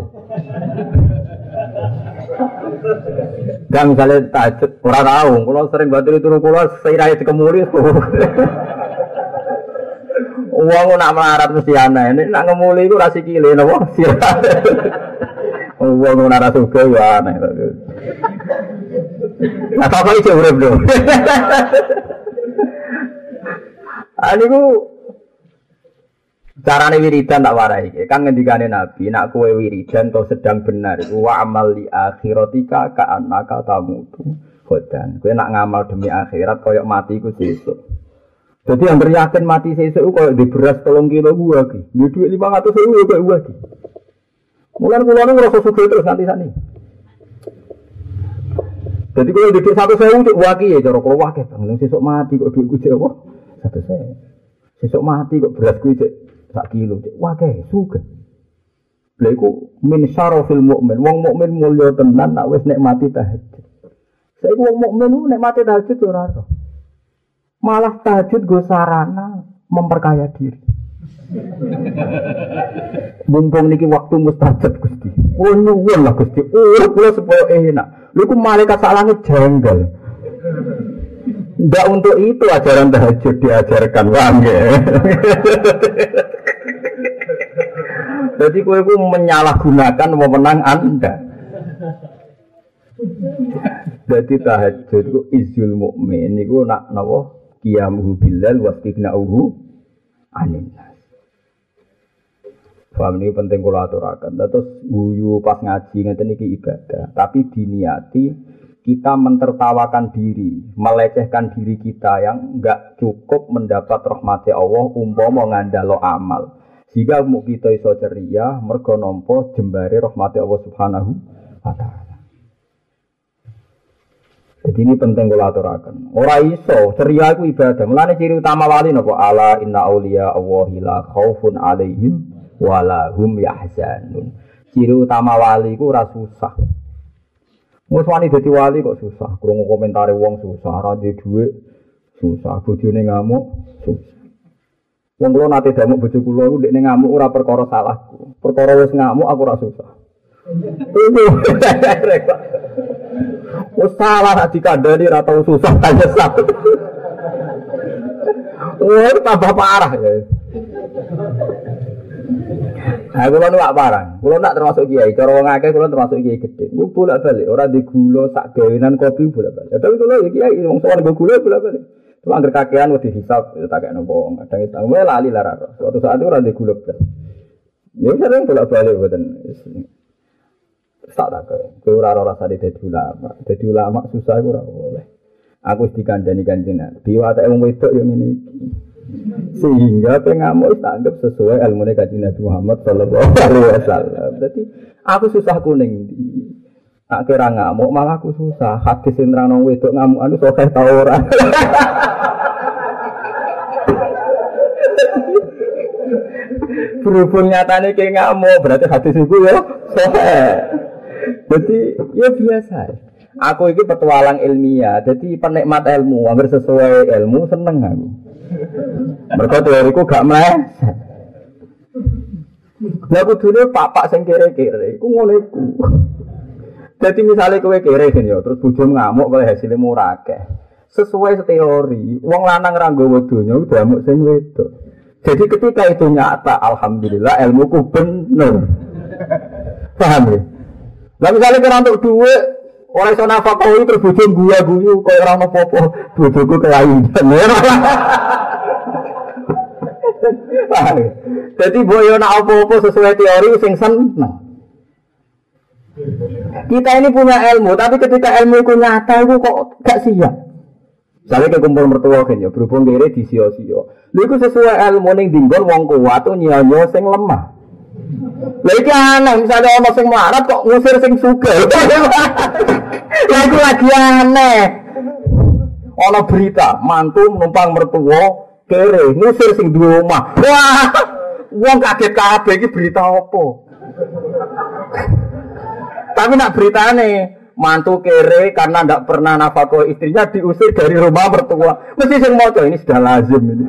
Gak misalnya tahajud ora tahu. Kalau sering batil turu kula seirai dikemuli. Wong nak melarat mesti aneh. Nek nak ngemuli iku ra sikile napa? Sirat. Wong ora suka ya aneh. Nah, apa iki urip lho. Aniku carane wiridan tak warai kan ngendikane Nabi nak kowe wiridan to sedang benar wa amal li akhiratika ka annaka tamutu khodan kowe nak ngamal demi akhirat koyo mati iku sesuk dadi anggere yakin mati sesuk koyo di beras 3 kilo gua iki di dhuwit 500.000 koyo gua iki mulan kula ngrasa sugih terus nanti sane dadi koyo di 100.000 cuk waki ya cara kula wakeh bang sesuk mati kok dhuwitku cek apa 100.000 sesuk mati kok beras kuwi cek 1 kilo, wah kayak suka. Laiku min syarafil mukmin, wong mukmin mulya tenan, nak wis nikmati tahajud. Saiki wong mukmin nikmati tahajud ora ora. Malah tahajud go sarana memperkaya diri. Mumpung niki waktu mustajab Gusti. Oh nyuwun lah Gusti. Oh kula supaya enak. Lha iku malaikat sak langit janggal. Enggak untuk itu ajaran tahajud diajarkan wong ya. Jadi kowe ku menyalahgunakan wewenang Anda. Jadi tahajud ku izul mukmin niku nak napa qiyamuhu bilal wastighna'uhu 'anil nas. Paham ini penting kula aturaken. Terus guyu pas ngaji ngeten iki ibadah, tapi diniati kita mentertawakan diri, melecehkan diri kita yang enggak cukup mendapat rahmat Allah umpama ngandalo amal. Jika mau kita iso ceria, mergo nampa jembare rahmat Allah Subhanahu wa taala. Jadi ini penting kula aturaken. Ora iso ceria iku ibadah. Mulane ciri utama wali napa? Ala inna auliya Allahi la khaufun alaihim wa la hum yahzanun. Ciri utama wali iku ora susah. Wes wani dadi wali kok susah, krungu komentare wong susah, ora duwe dhuwit susah, bojone ngamuk susah. Wong kula nate damuk bojo kula iku ndekne ngamuk ora perkara salahku. Perkara wis ngamuk aku ora susah. Wes salah nek dikandani ora tau susah ta nyesal. Oh, tambah parah ya. Nah, kula nu gak parang. Kula nak termasuk kiai, cara wong akeh kula termasuk kiai gedhe. Ku bolak-balik, ora di gula sak gawenan kopi bolak-balik. Tapi kula ya kiai wong sowan go gula bolak-balik. Cuma angger kakean wis dihisab tak kene wong. Kadang itu wae lali lara. Suatu saat itu ora di gula blas. Ya sering bolak-balik mboten. Tak kowe ora rasane dadi ulama. Dadi ulama susah ora oleh. Aku wis dikandani Kanjeng Nabi, watake wong wedok yo ngene iki. Sehingga pengamuk tanggap sesuai ilmune Kanjeng Nabi Muhammad sallallahu alaihi wasallam. Dadi aku susah kuning. Tak kira ngamuk malah aku susah. Hadis sing nerangno wedok ngamuk anu sokeh ta ora. Berhubung nyatane ke ngamuk berarti hadis iku ya sokeh. Jadi ya biasa. Aku ini petualang ilmiah, jadi penikmat ilmu, hampir sesuai ilmu seneng aku. Mereka teoriku gak meleset. Nah aku dulu papak sing kere-kere, aku ngono iku. Jadi misalnya kowe kere kan ya, terus bojo ngamuk kowe hasilnya murah akeh. Sesuai teori, wong lanang ra nggawa donya udah ngamuk sing wedok. Jadi ketika itu nyata, alhamdulillah ilmuku bener. Paham ya? Lah misalnya kira untuk duit, orang sana fakoi terus bojo guyu kaya ora ono apa-apa, bojoku kelainan. Jadi boyo nak apa-apa sesuai teori sing seneng. Kita ini punya ilmu, tapi ketika ilmu itu nyata itu kok gak siap. Misalnya ke kumpul mertua kan ya, berhubung kiri di sio-sio. Itu sesuai ilmu yang dinggon wong kuat itu nyanyo sing lemah. Lagi aneh, misalnya orang sing melarat kok ngusir sing sugih. Lagu lagi aneh. Ono berita, mantu menumpang mertua kere ngusir sing duwe omah. Wah, wong kaget kabeh iki berita apa? Tapi nak beritane mantu kere karena ndak pernah nafkah istrinya diusir dari rumah mertua. Mesti sing maca ini sudah lazim ini.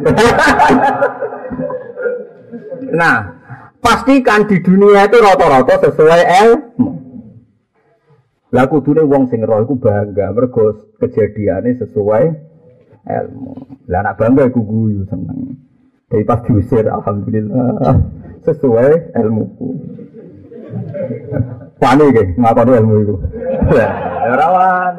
Nah, pastikan di dunia itu rata-rata sesuai ilmu. Lah kudune wong sing roh iku bangga mergo kejadiane sesuai ilmu. Lah anak bangga iku guyu seneng. Tapi pas diusir alhamdulillah sesuai ilmuku. Wani iki ngakoni ilmu iku. Ora wani.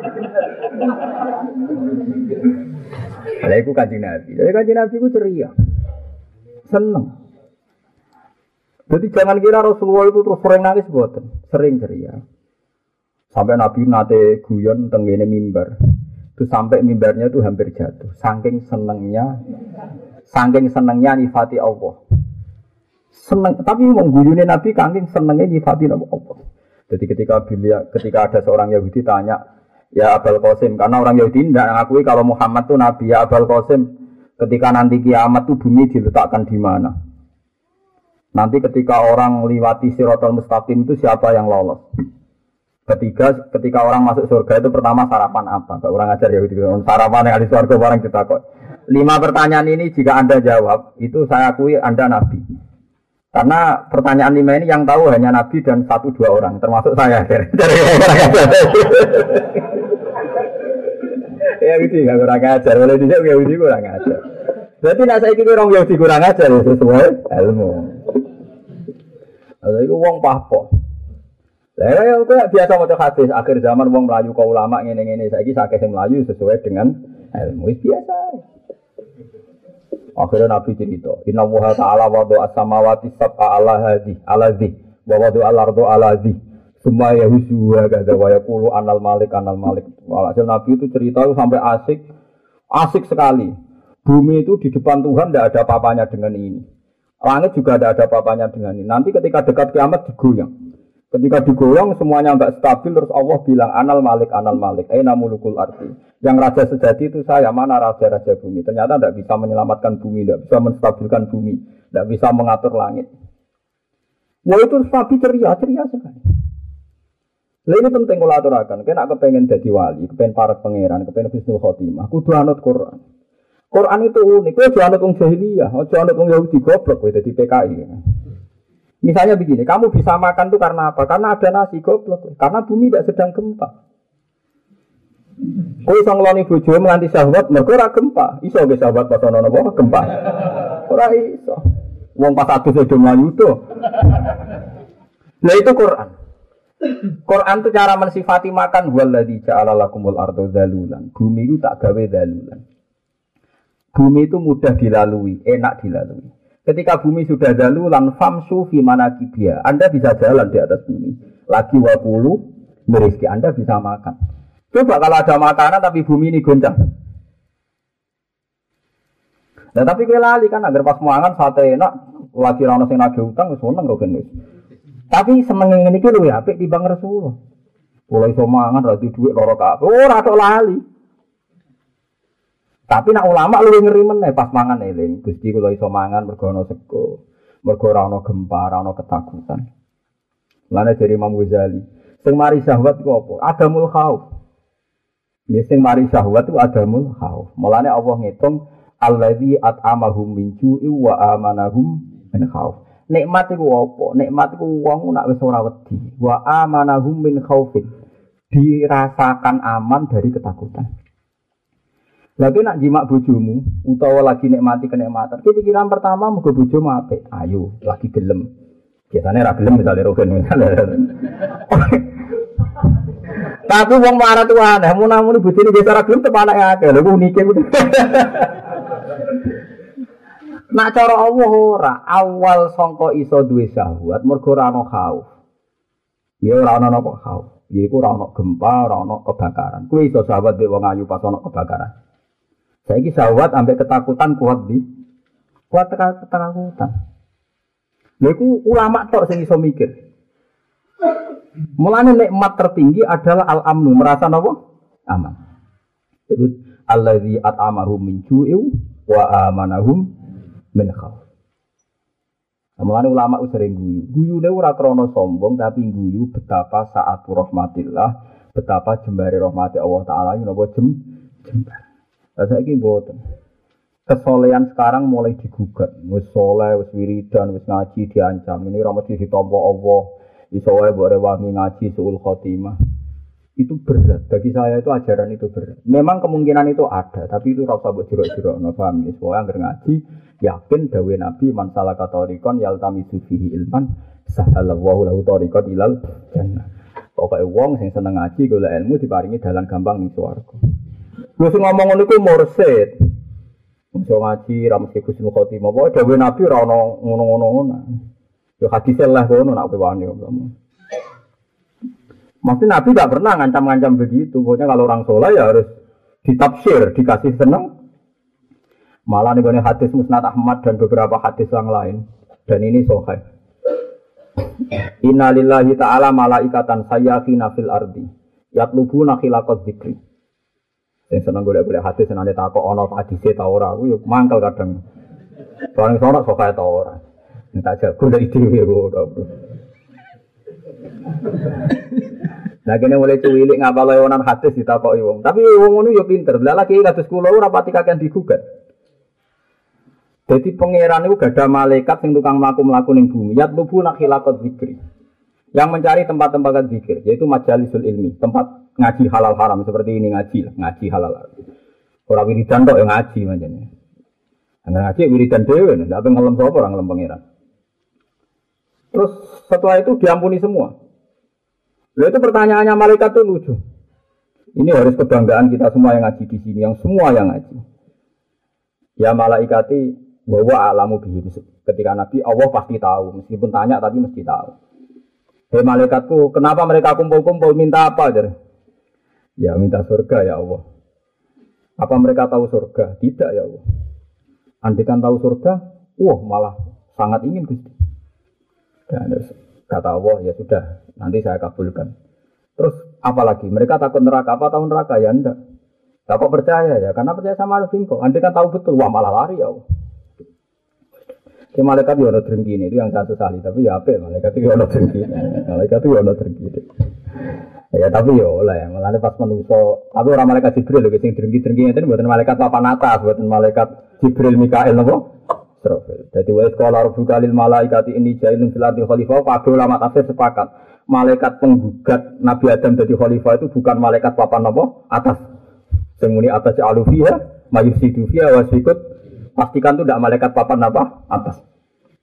Lah iku Kanjeng Nabi. Jadi Kanjeng Nabi ku ceria. Seneng. Jadi jangan kira Rasulullah itu terus sering nangis boten, sering ceria. Sampai Nabi nate guyon tenggene mimbar. Itu sampai mimbarnya itu hampir jatuh. Saking senengnya nyifati Allah. Seneng, tapi wong guyune Nabi saking senengnya nyifati Allah. Jadi ketika ada seorang Yahudi tanya, ya Abul Qasim, karena orang Yahudi tidak mengakui kalau Muhammad itu Nabi, ya Abul Qasim, ketika nanti kiamat itu bumi diletakkan di mana? Nanti ketika orang liwati Siratal Mustaqim itu siapa yang lolos? Ketika orang masuk surga itu pertama sarapan apa? Kalau orang ajar Yahudi, sarapan yang ada di surga orang ditakut. 5 pertanyaan ini jika Anda jawab, itu saya akui Anda Nabi. Karena pertanyaan 5 ini yang tahu hanya Nabi dan 1-2 orang, termasuk saya. Ya gitu, nggak kurang ajar. Boleh dijawab Yahudi kurang ajar. Berarti nak saya kira orang Yahudi kurang ajar sesuai ilmu. Lalu itu wong pahpoh. Lah ya kok biasa maca hadis akhir zaman wong melayu ka ulama ngene-ngene saiki sakeh sing melayu sesuai dengan ilmu biasa. Akhirnya Nabi cerita, Inna Allaha ta'ala wada'a as-samawati sab'a ala hadhi wa wada'a al-ardu ala hadhi semua yahusuha kada wa yaqulu anal malik. Walhasil Nabi itu cerita itu sampai asik sekali. Bumi itu di depan Tuhan tidak ada apa-apanya dengan ini. Langit juga tidak ada apa-apanya dengan ini. Nanti ketika dekat kiamat digoyang. Ketika digoyang semuanya enggak stabil terus Allah bilang anal malik. Aina mulukul ardi. Yang raja sejati itu saya, mana raja-raja bumi. Ternyata tidak bisa menyelamatkan bumi, tidak bisa menstabilkan bumi, tidak bisa mengatur langit. Wah itu Nabi ceria sekali. Nah ini penting kalau aturakan. Kena kepengen jadi wali, kepengen para pangeran, kepengen husnul khotimah. Kudu anut Quran. Quran itu unik. Kudu anut wong jahiliyah, kudu anut wong Yahudi goblok kuwi dadi PKI. Misalnya begini, kamu bisa makan tuh karena apa? Karena ada nasi goblok. Karena bumi tidak sedang gempa. Kowe iso ngloni bojomu nganti syahwat, mergo ora gempa. Iso ge syahwat pas ana napa gempa. Ora iso. Wong pas adus do mlayu to. Lah itu Quran. Quran itu cara mensifati makan waladzi ja'ala lakumul arda zalulan. Bumi itu tak gawe zalulan. Bumi itu mudah dilalui, enak dilalui. Ketika bumi sudah zalulan famsu fi manakibia. Anda bisa jalan di atas bumi. Lagi wakulu merizki Anda bisa makan. Coba kalau ada makanan tapi bumi ini goncang. Nah tapi kowe lali kan agar pas mangan sate enak, lagi ra ono sing nagih utang wis seneng kok genus. Tapi seneng ngene iki luwih apik timbang Rasulullah. Mulai iso mangan ra duwe dhuwit loro kabeh. Ora tok lali. Tapi nak ulama luwih ngeri meneh pas mangan eling. Gusti kula iso mangan mergo ana sego, mergo ora ana gempa, ora ana ketakutan. Lane dari Imam Ghazali, sing mari syahwat ku apa? Adamul khauf. Ya sing mari syahwat ku adamul khauf. Mulane Allah ngitung allazi at'amahum min ju'i wa amanahum min khauf. Nikmat iku apa? Nikmat iku wong nak wis ora wedi. Wa amanahum min khaufin. Dirasakan aman dari ketakutan. Lagi nak jimak bojomu utawa lagi nikmati kenikmatan. Pikiran pertama muga bojomu apik. Ayo, lagi gelem. Biasane ra gelem misale rogen. Tapi wong marah tuh aneh, mun-mun bojone desa ra gelem tepanake akeh. Lha ku unike ku. Nak cara Allah ora, awal sangka iso duwe syahwat mergo ora ana khauf. Ya ora ana napa khauf. Ya iku ora ana gempa, ora ana kebakaran. Kuwi iso syahwat mek wong ayu pas ana kebakaran. Saiki syahwat ambek ketakutan kuat ketakutan. Lha iku ulama tok sing iso mikir. Mulane nikmat tertinggi adalah al-amnu, merasa napa? Aman. Itu allazi at'amahum min ju'in wa amanahum min khauf. Mulane ulama sering guyu. Guyune ora krana sombong tapi guyu betapa saat rahmatillah, betapa jembare rahmati Allah taala napa jembar. Saiki mboten. Kesolehan sekarang mulai digugat. Wis saleh, wis wiridan, wis ngaji diancam. Ini ora mesti ditampa Allah. Iso wae mbok rewangi ngaji suul khotimah. Itu berat. Bagi saya itu ajaran itu berat. Memang kemungkinan itu ada, tapi itu ora usah mbok jero-jerokno, paham ya? Soale anggere ngaji, yakin dawuh Nabi man salaka tariqan yaltamisu fihi ilman sahalallahu lahu tariqan ilal jannah. Pokoke wong sing seneng ngaji golek ilmu diparingi dalan gampang ning swarga. Wis ngomong ngono iku mursid. Iso ngaji ra mesti Husnul Khotimah. Pokoke dawuh Nabi ora ono ngono-ngono. Yo hadis lah kono nak kowe wani kamu. Maksudnya Nabi tidak pernah ngancam-ngancam begitu. Pokoknya kalau orang soleh ya harus ditafsir, dikasih seneng. Malah nih hadis Musnad Ahmad dan beberapa hadis yang lain. Dan ini sahih. Inna lillahi ta'ala malaikatan sayyafina fil ardi. Yatlubuna khilaqad dzikri. Yang seneng golek-golek hadis senane takok ana hadise ta ora. Aku yo mangkel kadang. Soalnya sono sahih ta ora. Tak jago dari dhewe kok. Nah kene mulai cuwilik ngapal lewonan hadis ditakoki wong. Tapi wong ngono ya pinter. Lah lagi kados kula ora pati kakean digugat. Jadi pangeran itu gada malaikat sing tukang mlaku-mlaku ning bumi. Yatlubu nakhilaqat zikri. Yang mencari tempat-tempat zikir, yaitu majalisul ilmi, tempat ngaji halal haram seperti ini ngaji halal haram. Ora wiridan tok ya ngaji manjane. Ngaji wiridan dhewe, ndak apa ngelem sapa ora ngelem pangeran. Terus setelah itu diampuni semua. Lalu itu pertanyaannya malaikat itu lucu. Ini harus kebanggaan kita semua yang ngaji di sini, yang semua yang ngaji. Ya malaikati bahwa alamu bihim. Ketika Nabi Allah pasti tahu, meskipun tanya tapi mesti tahu. Hei malaikatku, kenapa mereka kumpul-kumpul minta apa? Ya minta surga ya Allah. Apa mereka tahu surga? Tidak ya Allah. Andaikan tahu surga, malah sangat ingin Gusti. Dan kata Allah, ya sudah, nanti saya kabulkan. Terus apalagi? Mereka takut neraka, apa tahu neraka? Ya enggak. Takut percaya ya, karena percaya sama Nabi kok. Andai kan tahu betul, malah lari ya Allah. Si malaikat itu ada drengki ini, itu yang saya sesali. Tapi ya apa, malaikat itu ada drengki. Malaikat itu ada drengki. Ya tapi ya oleh, malah pas manusia. Tapi orang malaikat Jibril, yang drengki-drengki itu buatan malaikat papan atas, buatan malaikat Jibril, Mikael, nopo. Jadi wa sekolah rabbuka lil malaikati inni ja'ilun fil ardi khalifah. Kabeh ulama tafsir sepakat. Malaikat penggugat Nabi Adam jadi khalifah itu bukan malaikat papan apa? Atas. Sing muni atas alufiha, mayusidu fiha wasikut. Pastikan itu tidak malaikat papan apa? Atas.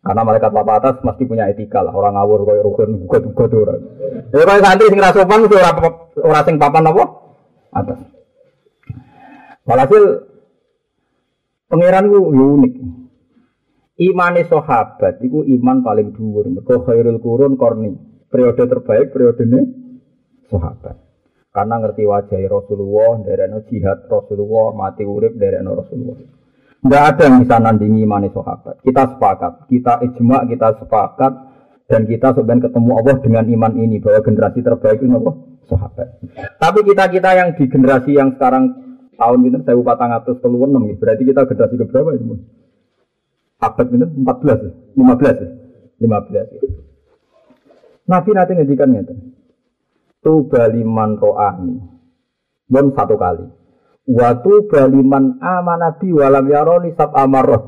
Karena malaikat papan atas mesti punya etika lah, orang ngawur koyo rukun gugat-gugat ora. Ya koyo santri sing ra sopan mesti ora sing papan apa? Atas. Walhasil pangeran ku unik. Imane sahabat iku iman paling dhuwur. Mergo khairul qurun qarni. Periode terbaik periodene sahabat. Karena ngerti wajah Rasulullah, nderekno jihad Rasulullah, mati urip nderekno Rasulullah. Tidak ada yang bisa nandingi imani sahabat. Kita sepakat, kita ijma, kita sepakat, dan kita sebenarnya ketemu Allah dengan iman ini bahwa generasi terbaik itu apa? Sahabat. Tapi kita yang di generasi yang sekarang tahun ini 1436, berarti kita generasi keberapa itu? Abad ini 14 ya? 15 ya? 15 ya. Nabi nanti ngedikan ngeten. Tuba liman ro'ani. Belum satu kali. Watu baliman amanabi walam yaroni sab amarot.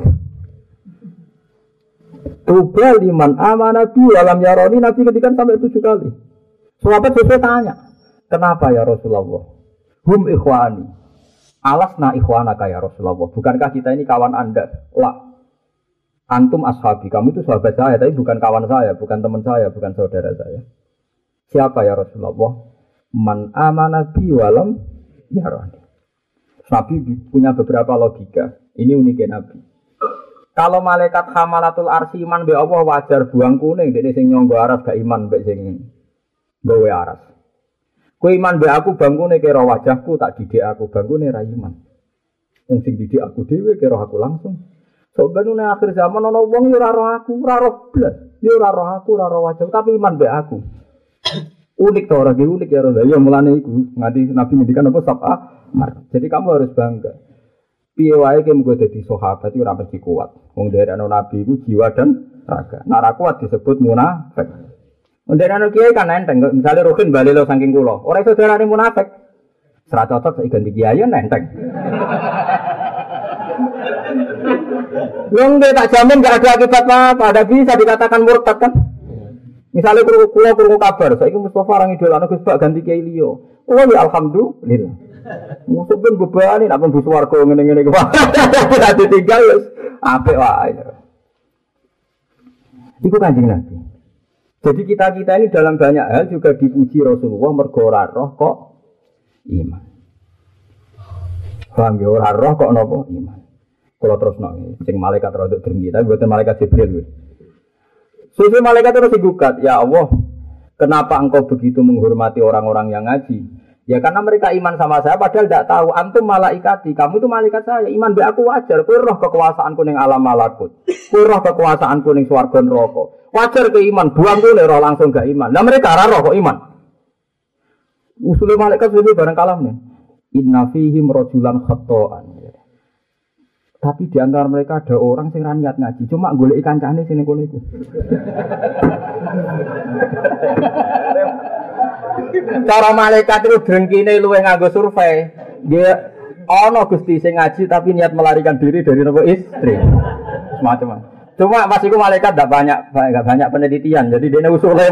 Tuba liman amanabi walam yaroni Nabi ketika sampai 7 kali. Sahabat sesuai tanya, kenapa ya Rasulullah? Hum ikhwani. Alasna ikhwanaka ya Rasulullah. Bukankah kita ini kawan Anda? La. Antum ashabi. Kamu itu sahabat saya, tapi bukan kawan saya, bukan teman saya, bukan saudara saya. Siapa ya Rasulullah? Man amanabi walam yaroni. Nabi punya beberapa logika. Ini uniknya Nabi. Kalau malaikat hamalatul arsy iman be Allah wajar buang kuning, dene sing nyangga aras gak iman mbek sing gawe aras. Kowe iman be aku bangkune kira wajahku tak didik aku bangkune ra iman. Wong sing didik aku dhewe kira aku langsung. Sok ben nek akhir zaman ana wong yo ora roh aku, ora roh blas. Yo ora roh aku, ora roh wajah, tapi iman be aku. Unik to ora unik ya Rasul. Ya mulane iku nganti Nabi ngendikan apa sab'a. Jadi kamu harus bangga. Piye wae ki mung dadi sahabat iki ora mesti kuat. Wong dherekno Nabi iku jiwa dan raga. Nek ora kuat disebut munafik. Wong dherekno kiai kan enteng, misale Rukin bali lo saking kula. Ora iso diarani munafik. Ora cocok sak ganti kiai enteng. Wong tak jamin gak ada akibat apa-apa, ada bisa dikatakan murtad kan. Misalnya kula krungu kabar, saiki Mustofa orang idolane Gus Bak ganti kiai liya. Oh ya alhamdulillah. Musuh pun bebani nak pun swarga ngene-ngene ku. Ora ditinggal wis apik wae. Iku Kanjeng Nabi. Jadi kita ini dalam banyak hal juga dipuji Rasulullah mergo ora roh kok iman. Paham ya ora roh kok napa iman. Kalau terus sing malaikat rodok drengki tapi bukan malaikat Jibril. Susu malaikat terus digugat, ya Allah, kenapa engkau begitu menghormati orang-orang yang ngaji? Ya karena mereka iman sama saya padahal tidak tahu antum malaikati, kamu itu malaikat saya, iman be aku wajar, kowe roh kekuasaanku ning alam malakut. Kowe roh kekuasaanku ning swarga neraka. Wajar ke iman, buang kowe roh langsung gak iman. Lah mereka ora roh kok iman. Usul malaikat sudah barang kalam nih. Inna fihim rajulan khata'an. Tapi di antara mereka ada orang sing ra niat ngaji, cuma goleki kancane sing kono iku. Cara malaikat itu drengkine luwih nganggo survei. Nggih ana Gusti sing ngaji tapi niat melarikan diri dari nopo istri. Semacam. Cuma pas iku malaikat enggak banyak penelitian. Jadi dene usule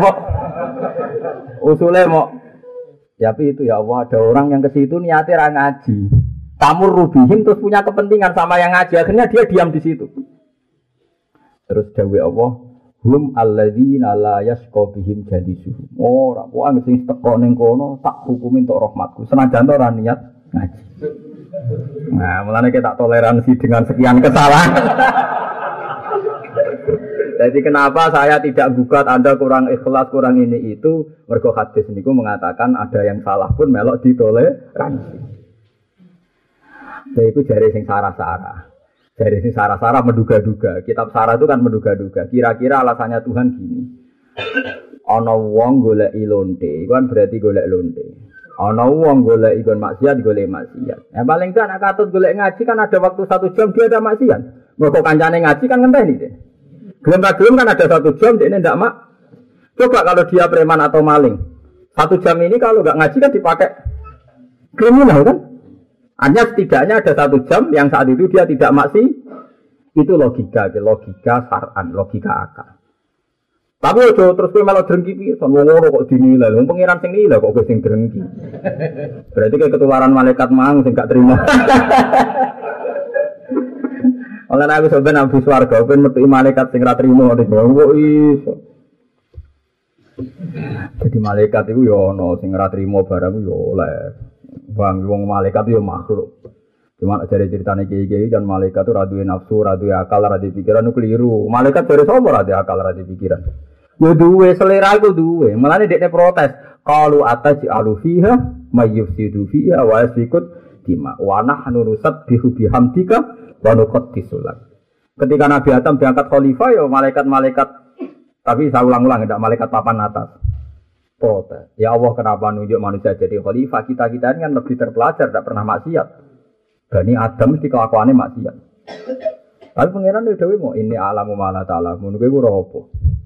mau tapi itu ya Allah ada orang yang ke situ niatnya ra ngaji. Kamu rubihim terus punya kepentingan sama yang ngaji, akhirnya dia diam di situ. Terus dawuh Allah, hum alladzina la yasqa bihim jalisuhum. Ora kuwi sing teko ning kono tak hukumi entuk rahmatku. Senajan ora niat ngaji. Nah, mulane kita tak toleransi dengan sekian kesalahan. Jadi kenapa saya tidak gugat Anda kurang ikhlas, kurang ini itu, mergo hadis niku mengatakan ada yang salah pun melok ditoleransi. Itu jari sing sarah-sarah. Jari sing sarah-sarah menduga-duga. Kitab sarah itu kan menduga-duga. Kira-kira alasannya Tuhan gini. Ana wong goleki lonte, iku kan berarti golek lonte. Ana wong golek ikon maksiat, golek maksiat. Yang paling kan nek katut golek ngaji kan ada waktu 1 jam dia ada maksiat. Mergo kancane ngaji kan ngenteni deh. Gelem kan ada 1 jam dia ndak mak. Coba kalau dia preman atau maling. 1 jam ini kalau enggak ngaji kan dipakai kriminal kan? Hanya setidaknya ada 1 jam yang saat itu dia tidak maksi. Itu logika syar'an, logika akal. Tapi ojo terus kowe malah drengki piye, son ngono kok dinilai. Wong pangeran sing nilai kok kowe sing drengki. Berarti kayak ketularan malaikat mang sing gak terima. Oleh aku sampeyan ambu swarga ben metu malaikat sing ra trimo kok iso. Jadi malaikat itu ya ono sing ora trimo barang ya oleh. Wong malaikat ya makhluk. Cuma dari ceritanya kiai-kiai kan malaikat itu radui nafsu, radui akal, radui pikiran itu keliru. Malaikat dari sopo radui akal, radui pikiran. Ya duwe selera itu duwe. Malah dia protes. Kalau atas alufiha, mayyufsidu fiha, wa yasikut dima. Wa nahnu nusabbihu bihamdika wa nuqaddisulat. Ketika Nabi Adam diangkat khalifah ya malaikat-malaikat. Tapi saya ulang-ulang tidak malaikat papan atas. Protes. Ya Allah kenapa nunjuk manusia jadi khalifah? Kita-kita ini kan lebih terpelajar, tidak pernah maksiat. Bani Adam mesti kelakuannya maksiat. Tapi pangeran itu dewe mau ini alamu malah ta'ala. Menurut gue apa?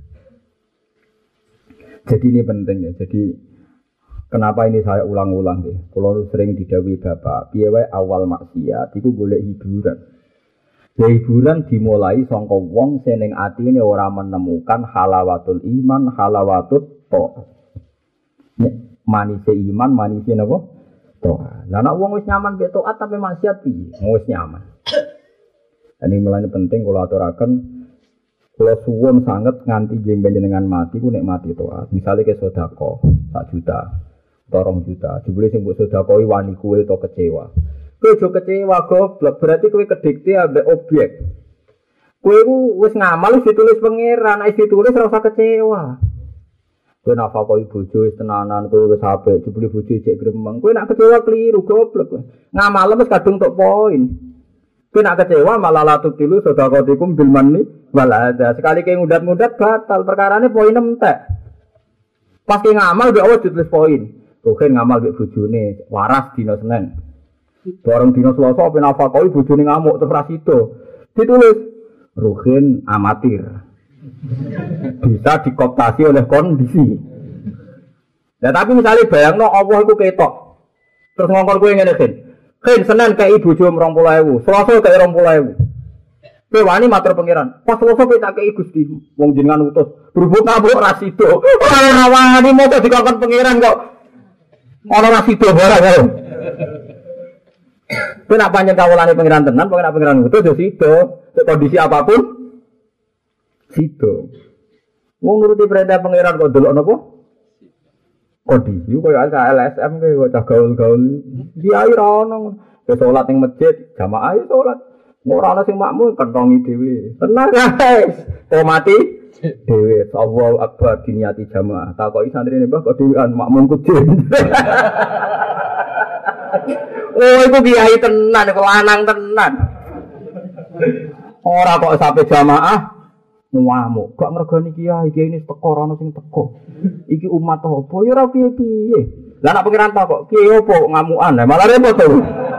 Jadi ini penting ya. Jadi kenapa ini saya ulang-ulang deh? Kalau sering didhawuhi bapak, piye wae awal maksiat iku golek hiburan. Ya hiburan dimulai saka wong sing ning atine ora menemukan halawatul iman, halawatut ta'ah. Manise iman, manise napa? Ta'ah. Lah nek wong wis nyaman mek taat tapi maksiat piye? Wis nyaman. Ini mulane penting kula aturaken kula suwun sanget nganti jenengan mati ku nek mati taat. Misale ke sedekah 1 juta, 2 juta, jebule sing mbok sedekahi wani kuwe to kecewa. Kowe aja kecewa goblok, berarti kowe kedikte ambek objek. Kowe ku wis ngamal wis ditulis pangeran, nek ditulis ora usah kecewa. Kowe nafakoi bojo wis tenanan, kowe wis apik, jebule bojo cek gremeng. Kowe nak kecewa keliru goblok. Ngamal wis kadung tok poin. Kowe nak kecewa malah latu tilu sedekahatikum bil manni wal adza. Sekali kowe ngudat-ngudat batal, perkarane poin entek. Pas kowe ngamal mbek Allah ditulis poin. Kowe ngamal mbek bojone waras dina Senin. Bareng dina Selasa ben nafakoi bojone ngamuk terus ra sida. Ditulis Ruhin amatir. Bisa dikooptasi oleh kondisi. Nah tapi misalnya bayangno Allah iku ketok. Terus ngongkon kowe ngene Ken Senin kei bojo 20.000, Selasa kei 20.000. Kowe wani matur pangeran. Pas Selasa kowe tak kei Gusti, wong jenengan utus. Berhubung nabuk ra sida. Ora wani moco dikongkon pangeran kok. Ana ra sida barang karo. Kowe nak pancen kawulane pangeran tenan, pokoke nak pangeran utus yo sida. Kondisi apapun sida. Wong nuruti perintah pangeran kok delok napa? Kondisi koyo LSM kowe cah gaul-gaul. Kiai ra ono. Wis salat ning masjid, jamaah salat. Ora ana sing makmum kentongi dhewe. Tenang guys. Kok mati dhewe. Allahu Akbar diniati jamaah. Takoki santrine Mbah kok dhewean makmum kudin. Oh iku kiai tenan, iku lanang tenan. Ora kok sampe jamaah ngamuk, gak ngregani kiai ini teko ora ono sing teko. Iki umat apa ya ora piye-piye. Lah nek pengiran ta kok kiai opo ngamukan, malah repot to.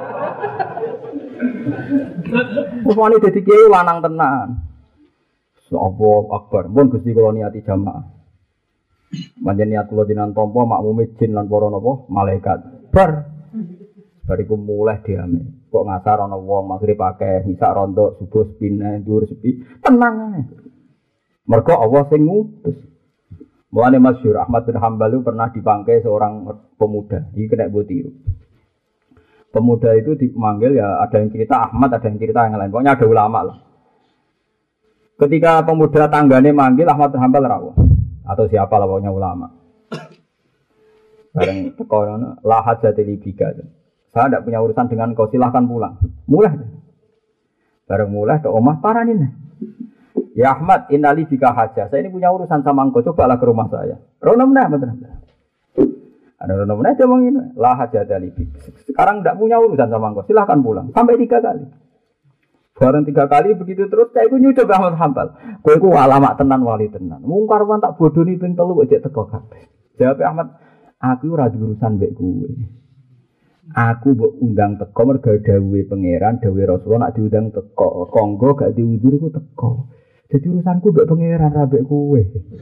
Wong dadi kiai lanang tenan. Allahu Akbar, mun Gusti kula niati jamaah. Manjen niat kula dinan tampa makmume jin lan para napa malaikat. Bariku mulai diame. Kok ngasar ana wong magrib akeh, isak rontok, subuh sepine, dhuwur sepi. Tenang ae. Mergo Allah sing ngutus. Mulane masyhur Ahmad bin Hanbal pernah dipangkai seorang pemuda. Iki kena mbok tiru. Pemuda itu dipanggil ya ada yang cerita Ahmad, ada yang cerita yang lain. Pokoknya ada ulama lah. Ketika pemuda tanggane manggil Ahmad bin Hanbal rawuh atau siapa lah pokoknya ulama. Bareng teko ngono, la hajati li bika. Saya tidak punya urusan dengan kau, silahkan pulang. Mulai. Bareng mulai ke omah paranin. Ya Ahmad, innali bika hajah. Saya ini punya urusan sama engkau, cobalah ke rumah saya. Rono meneh betul. Ada rono meneh dia ngomong ini. La hajah dari bika. Sekarang tidak punya urusan sama engkau, silahkan pulang. Sampai 3 kali. Bareng 3 kali begitu terus saya iku nyucuk Ahmad Hanbal. Kowe iku ulama tenan wali tenan. Mungkar wan tak bodoni ping 3 kok jek teko kabeh. Jawab Ahmad, aku ora urusan mbek kowe. Aku mbok undang teko mergo dawuhe pangeran, dawuhe Rasulullah nak diundang teko, konggo gak diundur iku teko. Dadi urusanku mbek pangeran ra mbek kowe.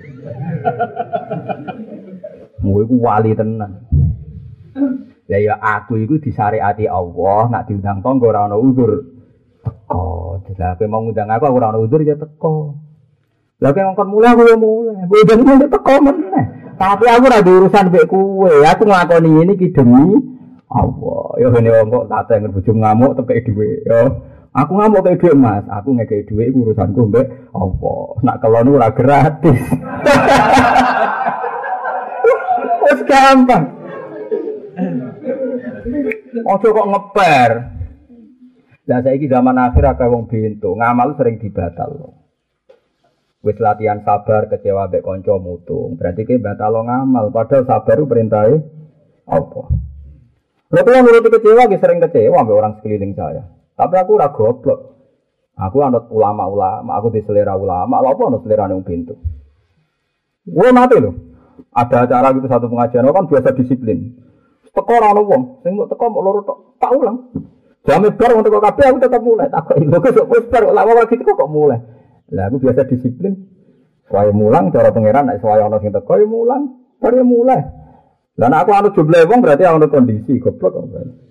Kowe iku wali tenan. Lah ya aku iku disyariati Allah, nak diundang tangga ora ana uzur. Teko. Lah kowe mau ngundang aku ora ana uzur ya teko. Lah kowe ngkon mulai aku ya mulai. Kowe ndang teko meneh. Tapi aku ora urusan mbek kowe. Aku nglakoni ini ki demi Allah, ya ngene wong kok tateng bojo ngamuk tepeke dhewe. Ya Aku ngamuk kayak duit Mas, aku ngekei duit urusanku mbek apa? Nak kelon ora gratis. Wes gampang. Ojo kok ngeper. Lah saiki zaman akhir akeh wong bento, ngamal sering dibatal. Wis latihan sabar kecewa mbek kanca mutung, berarti ki batal ngamal, padahal sabar ku perintahe apa? Lha kula nuruti kecewa ki sering kecewa mbek orang sekeliling saya. Tapi aku ora goblok. Aku anut ulama-ulama, aku diselera ulama, lha apa anut selerane wong bento. Wong mati lho. Ada acara gitu satu pengajian, kan biasa disiplin. Teko ora ono wong, sing teko mok loro tok. Tak ulang. Jame bar wong teko kabeh aku tetep mulai. Tak kok lho kok wis bar lha wong gitu kok mulai. Lah aku biasa disiplin. Saya mulang cara pangeran nek saya ana sing teko ya mulang, bar ya mulai. Lah nek aku anut jumlah wong berarti ana kondisi goblok kok.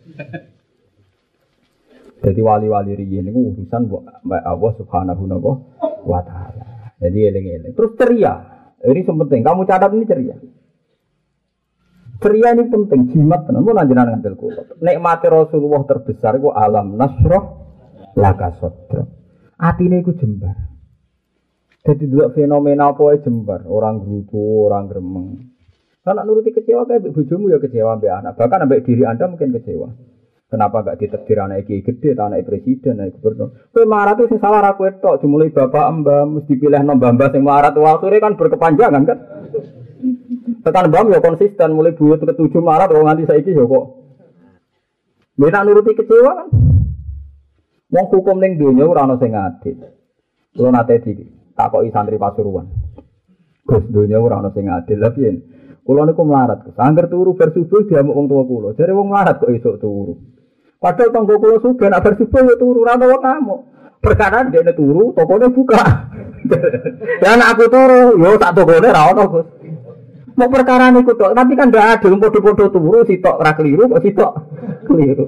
Jadi wali-wali riyen niku urusan mbak Allah Subhanahu wa taala. Jadi eling-eling. Terus ceria. Ini penting. Kamu catat ini ceria. Ceria ini penting. Jimat tenan mun anjenengan ngantil kula. Nikmate Rasulullah terbesar iku alam nasrah laka sadra. Atine iku jembar. Jadi delok fenomena apa wae jembar, orang grupo, orang gremeng. Kan nuruti kecewa kayak bojomu ya kecewa mbek anak. Bahkan mbek diri Anda mungkin kecewa. Kenapa gak ditekdir anak iki gede, anak presiden, anak gubernur? Kowe marah tuh sing salah ra kowe tok, dimulai bapak mbah mesti dipilih mbah-mbah sing marah tuh akhire kan berkepanjangan kan. Tekan mbah ya konsisten mulai buyut ke-7 Maret kok nganti saiki ya kok. Mbek nuruti kecewa kan. Wong hukum ning donya ora ana sing adil. Kulo nate ditakoki santri Pasuruan. Gus donya ora ana sing adil lha piye? Kulo niku melarat. Angger turu bar subuh diamuk wong tuwa kulo. Jare wong melarat kok esuk turu. Padahal tangga kula sudah nak bersubuh ya turu ora ono ngamuk. Perkara dekne turu, tokone buka. Dan aku turu, yo tak tokone ora ono, Gus. Mau perkara niku tok, tapi kan ndak adil padha-padha turu sitok ora keliru kok sitok keliru.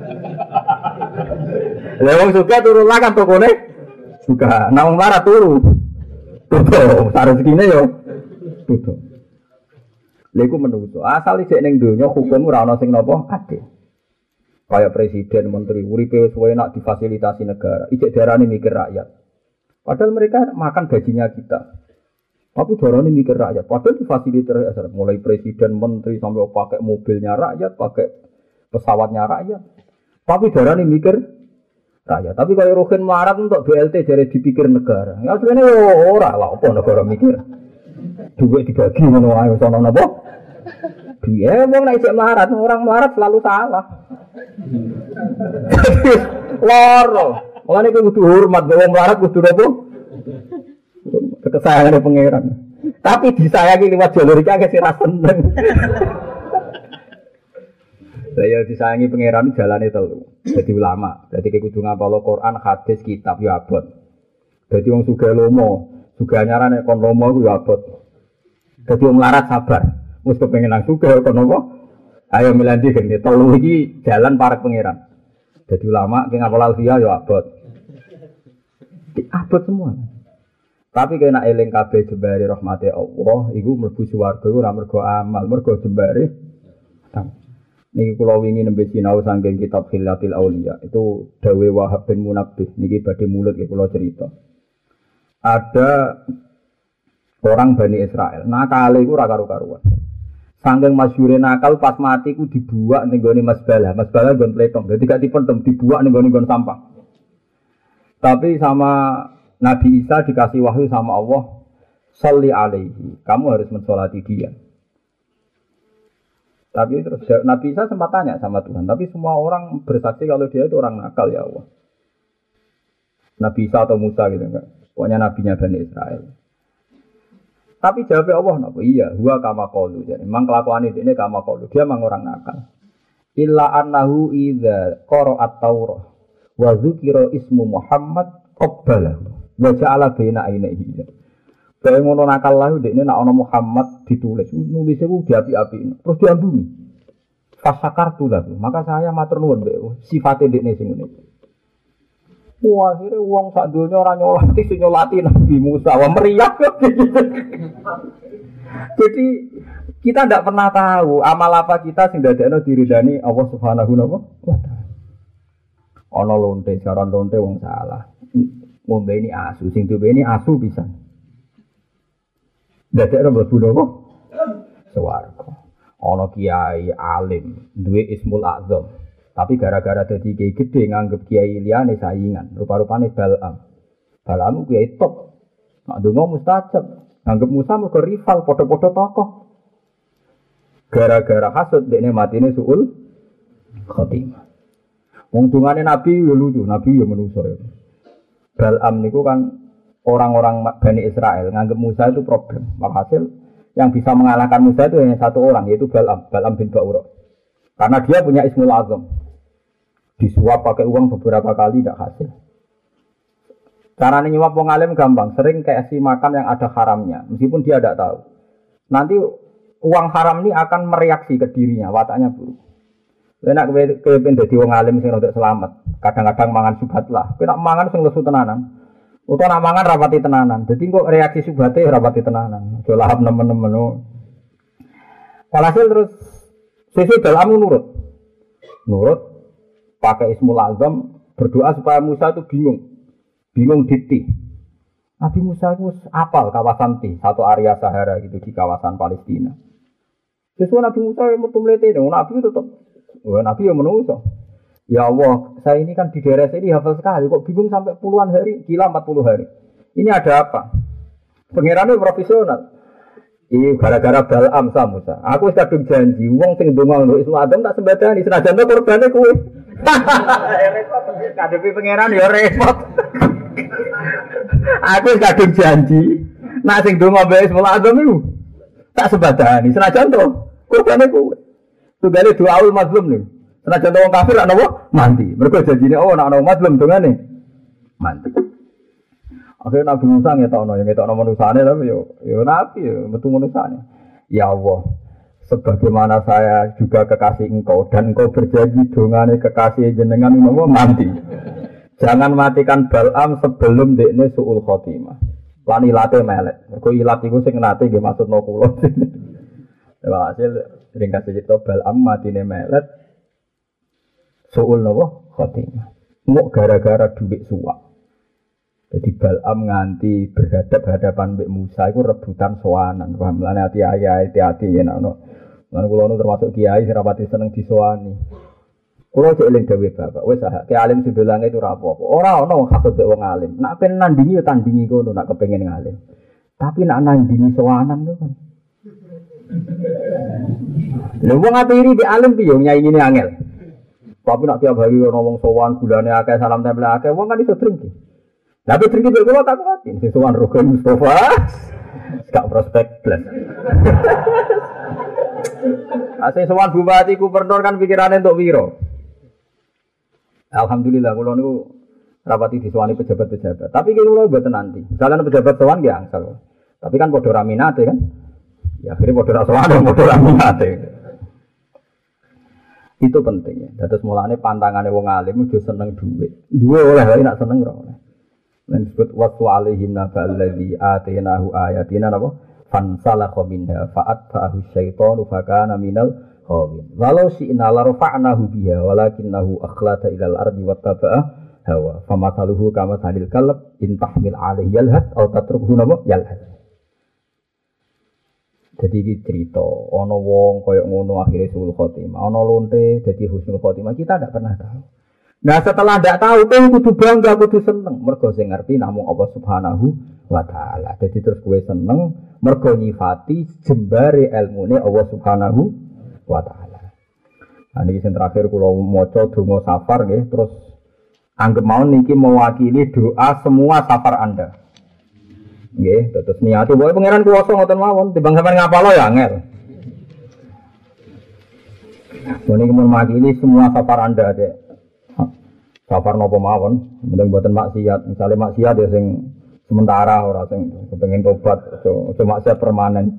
Lah wong suka turu lah kan tokone buka. Nah wong marah turu. Tutup, sak rezekine yo tutup. Lha iku menungso. Asal isih ning donya hukum ora ana sing napa adil. Kayak presiden, menteri, uripe wis enak difasilitasi negara. Ijek darane mikir rakyat. Padahal mereka makan gajinya kita. Tapi darane mikir rakyat. Padahal difasilitasi rakyat. Mulai presiden, menteri sampai pakai mobilnya rakyat, pakai pesawatnya rakyat. Tapi darane mikir rakyat. Tapi kalau Rohin melarat untuk BLT jadi dipikir negara. Ya sebenarnya ora lah apa negara mikir. Duit dibagi ngono ae sono napa? Dia wong nek isih melarat, orang melarat selalu salah. Loro. Mulane kudu hormat wong melarat kudu napa? Kesayangan pangeran. Tapi disayangi liwat jalur iki akeh sira seneng. Saya disayangi pangeran jalane telu. Jadi ulama, jadi kudu ngapal Quran, hadis, kitab ya abot. Jadi wong sugih lomo, sugih anyarane kon lomo ku ya abot. Jadi wong melarat sabar. Wis kepengin nang sugih kon apa? Ayo milandi gene telu iki jalan para pangeran. Jadi ulama ki ngapal alfiah ya abot. Abot semua. Tapi kena eling kabeh jembare rahmate Allah, iku mlebu swarga ora mergo amal, mergo jembare. Niki kula wingi nembe sinau saking kitab Khilatil Auliya. Itu dawe Wahab bin Munabbih. Niki badhe mulut iki kula cerita. Ada orang Bani Israel, nakale iku ora karo-karuan. Saking masyhure nakal pas mati ku dibuak ning gone masbalah. Masbalah nggon pletong. Dadi gak dipendem, dibuak ning gone sampah. Tapi sama Nabi Isa dikasih wahyu sama Allah, sholli alaihi. Kamu harus mensolati dia. Tapi terus Nabi Isa sempat tanya sama Tuhan, tapi semua orang bersaksi kalau dia itu orang nakal ya Allah. Nabi Isa atau Musa gitu enggak. Pokoknya nabinya Bani Israel. Tapi jawabnya Allah napa? Iya, huwa kama qalu. Jadi memang kelakuan ini kama qalu. Dia memang orang nakal. Illa annahu idza qara'at Taurah wa dzukira ismu Muhammad qabbalahu wa ja'ala baina ainihi. Kayak ngono nakal lah dekne nek ana Muhammad ditulis, nulisnya ku diapi-api. Terus diambungi. Fasakartu lahu. Maka saya matur nuwun mbek sifate dekne sing ngene. Wah, akhirnya wong sak donya ora nyolati sing nyolati Nabi Musa. Wah meriah. Jadi kita tidak pernah tahu amal apa kita sing dadekno diridani Allah Subhanahu wa taala. Ana lonte, jaran lonte wong salah. Ngombe ini asu, sing duwe ini asu pisan. Dadekno mlebu napa? Swarga. Ana kiai alim, duwe Ismul A'zam. Tapi gara-gara dadi kiai gedhe nganggep kiai liyane saingan, rupa-rupane Bal'am. Bal'am kiai top. Nek ndonga mustajab, nganggep Musa mergo rival padha-padha tokoh. Gara-gara hasud dekne matine suul khotimah. Wong dungane Nabi yo lucu, Nabi yo manusa ya. Bal'am niku kan orang-orang Bani Israel nganggep Musa itu problem. Walhasil yang bisa mengalahkan Musa itu hanya satu orang, yaitu Bal'am bin Ba'ura. Karena dia punya Ismul A'zam. Disuap pakai uang beberapa kali tidak hasil. Caranya nyuap wong alim gampang, sering kasih makan yang ada haramnya, meskipun dia tidak tahu. Nanti uang haram ini akan mereaksi ke dirinya, wataknya buruk. Enak kepen dadi wong alim sing untuk selamat. Kadang-kadang mangan subhat lah. Kowe nak mangan sing lesu tenanan. Utawa nak mangan rapati tenanan. Dadi kok reaksi subhate rapati tenanan. Aja lahap nemen-nemen. Walhasil terus sesuk dalam nurut. Nurut pakai Ismul A'zam berdoa supaya Musa itu bingung. Bingung diti. Nabi Musa itu apal kawasan Ti, satu area Sahara gitu di kawasan Palestina. Sesuai Nabi Musa yang metu mlete, Nabi tetap Nabi yang menungso. Ya Allah, saya ini kan di daerah sini hafal sekali, kok bingung sampai puluhan hari, gila 40 hari. Ini ada apa? Pengirannya profesional. Ini gara-gara Bal'am sama Musa. Aku kadung janji, wong sing ndonga untuk Ismul A'zam tak sembadani, senajan to korbane kowe. Repot, kadepi pengiran ya repot. Aku kadung janji, nak sing ndonga mbek Ismul A'zam iku tak sembadani, senajan to korbane kowe. Tugale doaul mazlum nih. Senajan wong kafir ana apa? Mati. Mergo janjine Allah nek ana mazlum dongane mati. Akhirnya Nabi Musa ngetokno manusane tapi yo nabi yo metu manusane. Ya Allah, sebagaimana saya juga kekasih engkau dan engkau berjanji dongane kekasih jenengan mau mati. Jangan matikan Bal'am sebelum dekne suul khotimah. Lan ilate melek. Mergo ilat iku sing nate nggih maksudno kula. Hasil ringkas cerita Bal'am matine melet suul napa khotimah. Muk gara-gara duit suwak. Jadi Bal'am nganti berhadapan mbek Musa iku rebutan sowanan. Paham lan hati-hati yen ana. Lan kula nu termasuk kiai sing rapati seneng disowani. Kula cek eling dawuh Bapak, wis ah ki alim sebelange itu ora apa-apa. Ora ana wong hasud wong alim. Nak pengen nandingi ya tandingi kono nak kepengin ngalim. Tapi nak nandingi sowanan kok kan. Lha wong atiri di alim piye nyaingine angel. Tapi nak tiap hari ana wong sowan gulane akeh salam tempel akeh wong kan iso drengki. Tapi drengki kok kula takut sing sowan Rukun Mustafa. Gak prospek blas. Asih sowan bupati gubernur kan pikirane untuk wiro. Alhamdulillah kula niku rapati disowani pejabat-pejabat. Tapi kula mboten nanti. Jalan pejabat sowan nggih angsal. Tapi kan padha ra minate kan. Ya akhirnya padha sowan padha ra minate. Itu pentingnya. Dados mulane pantangane wong alim ojo seneng dhuwit. Duwe oleh wae nak seneng ora oleh. Lan disebut waqtu alaihim naballadzi atainahu ayatina napa fansalakha minha fa'atba'ahu syaitanu fakana minal ghawin. Walau syi'na la rafa'nahu biha walakinnahu akhlada ilal ardi wattaba'a hawa. Famathaluhu kama thalil kalb in tahmil alaihi yalhas aw tatrukhu napa yalhas. Jadi iki cerita ana wong kaya ngono akhire suul khotimah, ana lonte dadi husnul khotimah kita ndak pernah tahu. Nah setelah ndak tahu kowe kudu bangga, kudu seneng mergo sing ngerti namung Allah Subhanahu wa taala. Jadi terus kowe seneng mergo nyifati jembare ilmune Allah Subhanahu wa taala. Nah niki sing terakhir kula maca donga safar nggih, terus anggap mawon niki mewakili doa semua safar Anda. Nggih, terus niate wae pangeran kuwasa ngoten mawon, timbang sampean ngapalo ya angel. Niki mewakili semua safar Anda dek. Safar napa mawon, mending boten maksiat. Misale maksiat ya sing sementara ora sing kepengin tobat, aja maksiat permanen.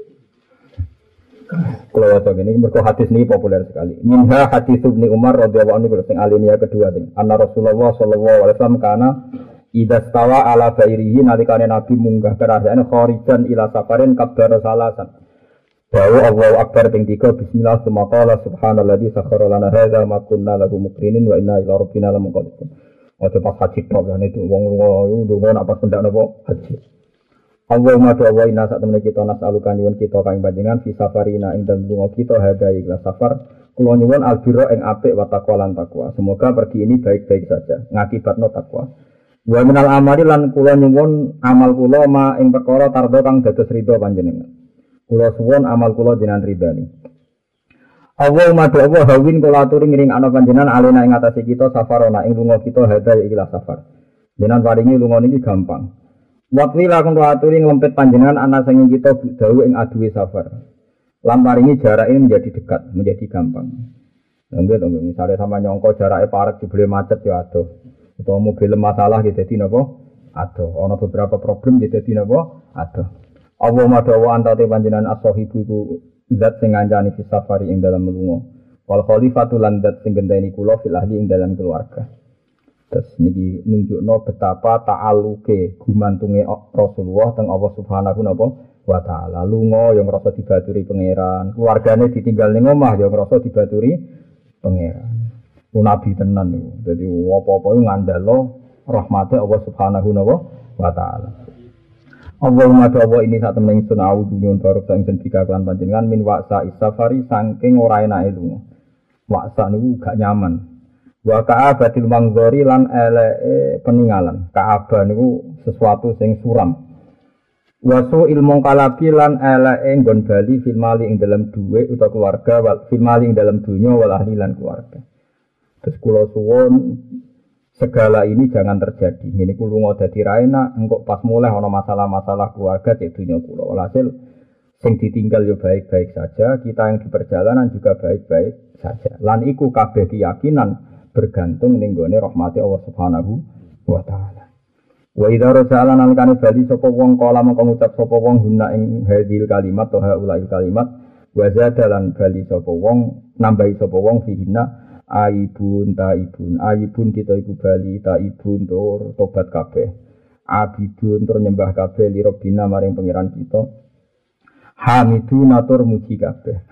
Kalau waca ngene mergo hadis niki populer sekali. Minha hadis Ibnu Umar radhiyallahu anhu sing alinea kedua sing anna Rasulullah sallallahu alaihi wasallam kana idza stawa ala bairihi nalikane Nabi munggah kerajaan kharijan ila safarin kabar salasan. Dawu Allahu Akbar ping 3 bismillah summa qala subhanalladzi sakhkhara lana hadza ma kunna lahu muqrinin wa inna ila rabbina lamunqalibun. Ojo pas haji tok ya itu wong lunga nak pas pendak napa haji. Allahumma doa inna sak temene kita nasalukan nyuwun kita kang panjenengan fi safarina ing dalem lunga kita hadza ikhlas safar kula nyuwun albirra ing apik wa taqwa lan takwa. Semoga pergi ini baik-baik saja ngakibatno takwa. Wa minal amali lan kula nyuwun amal kula ma ing perkara tardo kang dados ridho panjenengan. Kula suwun amal kula jenengan ridani. Allahumma doa hawin kula aturi ngiring ana panjenengan alena ing atase kita safarona ing lunga kita hadza ikhlas safar. Jenengan paringi lunga niki gampang. Waktu lakon kula aturi nglempet panjenengan ana sing kita dawu ing aduwe safar. Lan paringi jarak ini menjadi dekat, menjadi gampang. Nggih to, misale sama nyongko jarake parek jebule macet ya adoh. Utawa mobil masalah gitu dadi napa? Adoh. Ana beberapa problem gitu dadi napa? Adoh. Allahumma dawa antate panjenengan as-sahibu iku zat sing ngancani fi safari ing dalam lunga. Wal khalifatu lan zat sing genteni kula fil ahli ing dalam keluarga. Terus niki nunjukno betapa ta'aluke gumantunge Rasulullah teng Allah Subhanahu wa taala. Lunga yang ngrasa dibaturi pangeran, keluargane ditinggal ning omah yang ngrasa dibaturi pangeran. Nabi tenan niku. Dadi apa-apa ngandalo rahmate Allah Subhanahu wa taala. Allahumma doa ini saat temen ingsun a'udzu nyuwun barok ingsun dikaklan panjenengan min wa'sa isafari saking ora enake lunga. Wa'sa niku gak nyaman. Wa ka'abatil mangzori lan eleke peninggalan. Ka'aba niku sesuatu sing suram. Wa su'il mungkalabi lan eleke nggon bali fil mali ing dalam dhuwit utawa keluarga wal fil mali ing dalam dunya wal ahli lan keluarga. Terus kula suwun segala ini jangan terjadi. Ini kulo lunga dadi ra enak, engko pas mulai ana masalah-masalah keluarga cek dunya kula. Walhasil sing ditinggal yo baik-baik saja, kita yang di perjalanan juga baik-baik saja. Lan iku kabeh keyakinan bergantung ning gone rahmati Allah Subhanahu wa taala. Wa idza raja'ala nalikane bali sapa wong kala mengko ngucap sapa wong guna ing hadil kalimat atau haulail kalimat wa zadalan bali sapa wong nambahi sapa wong fihina aibun taibun aibun kita iku bali taibun tur tobat kabeh abidun tur nyembah kabeh li Rabbina maring pangeran kita hamidun atur muji kabeh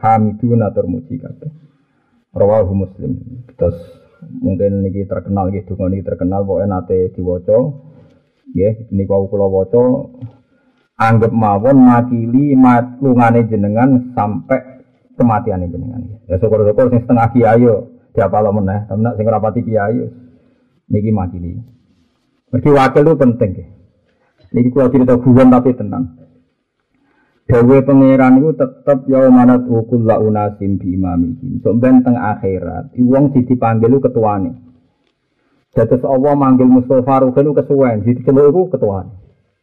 rawahu Muslim. Terus mungkin niki terkenal nggih donga niki terkenal pokoke nate diwaca nggih niku kula waca anggap mawon makili lungane jenengan sampai kematiane jenengan. Ya syukur-syukur sing setengah kiai yo diapalo meneh, tapi nek sing rapati kiai niki makili. Mergi wakil itu penting nggih. Niki kula cerita guyon tapi tenang. Dewe pangeran iku tetep ya manat ukul la unasim bi imamihim. Sok ben teng akhirat, wong sing dipanggil ketuane. Dados Allah manggil Mustofa Ruhin kesuwen, diceluk iku ketuane.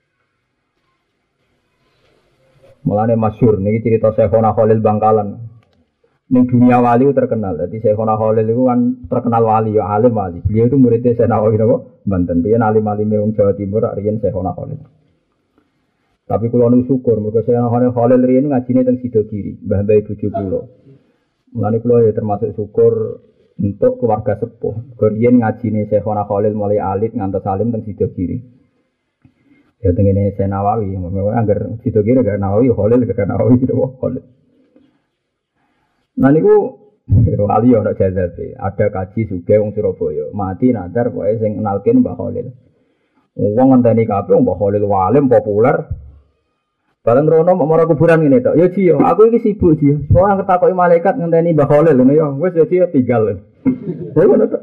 Mulane masyhur niki cerita Syekhona Khalil Bangkalan. Ning dunia wali terkenal. Jadi Syekhona Khalil itu kan terkenal wali ya alim wali. Beliau itu muridnya Syekh Nawawi napa? Banten. Piye alim-alime wong Jawa Timur riyen Syekhona Khalil. Tapi kula nu syukur mergo Syekhona Khalil riyen ngajine teng Sidogiri, mbah-mbah bojo kula. Mulane kula ya termasuk syukur untuk keluarga sepuh. Riyen ngajine Syekhona Khalil mulai alit ngantos alim teng Sidogiri. Ya tengene Syekh Nawawi, angger Sidogiri gak Nawawi Khalil gak Nawawi gitu Khalil. Nah niku wali ana jazabe, ada kaji sugih wong Surabaya, mati nadar pokoke sing kenalken Mbah Khalil. Wong ngenteni kabeh Mbah Khalil walim populer. Bareng rono marang kuburan ngene tok. Ya Ji, aku iki sibuk Ji. Soale ngertakoki malaikat ngenteni Mbah Khalil ngono ya. Wis ya Ji tinggal. Ya ngono tok.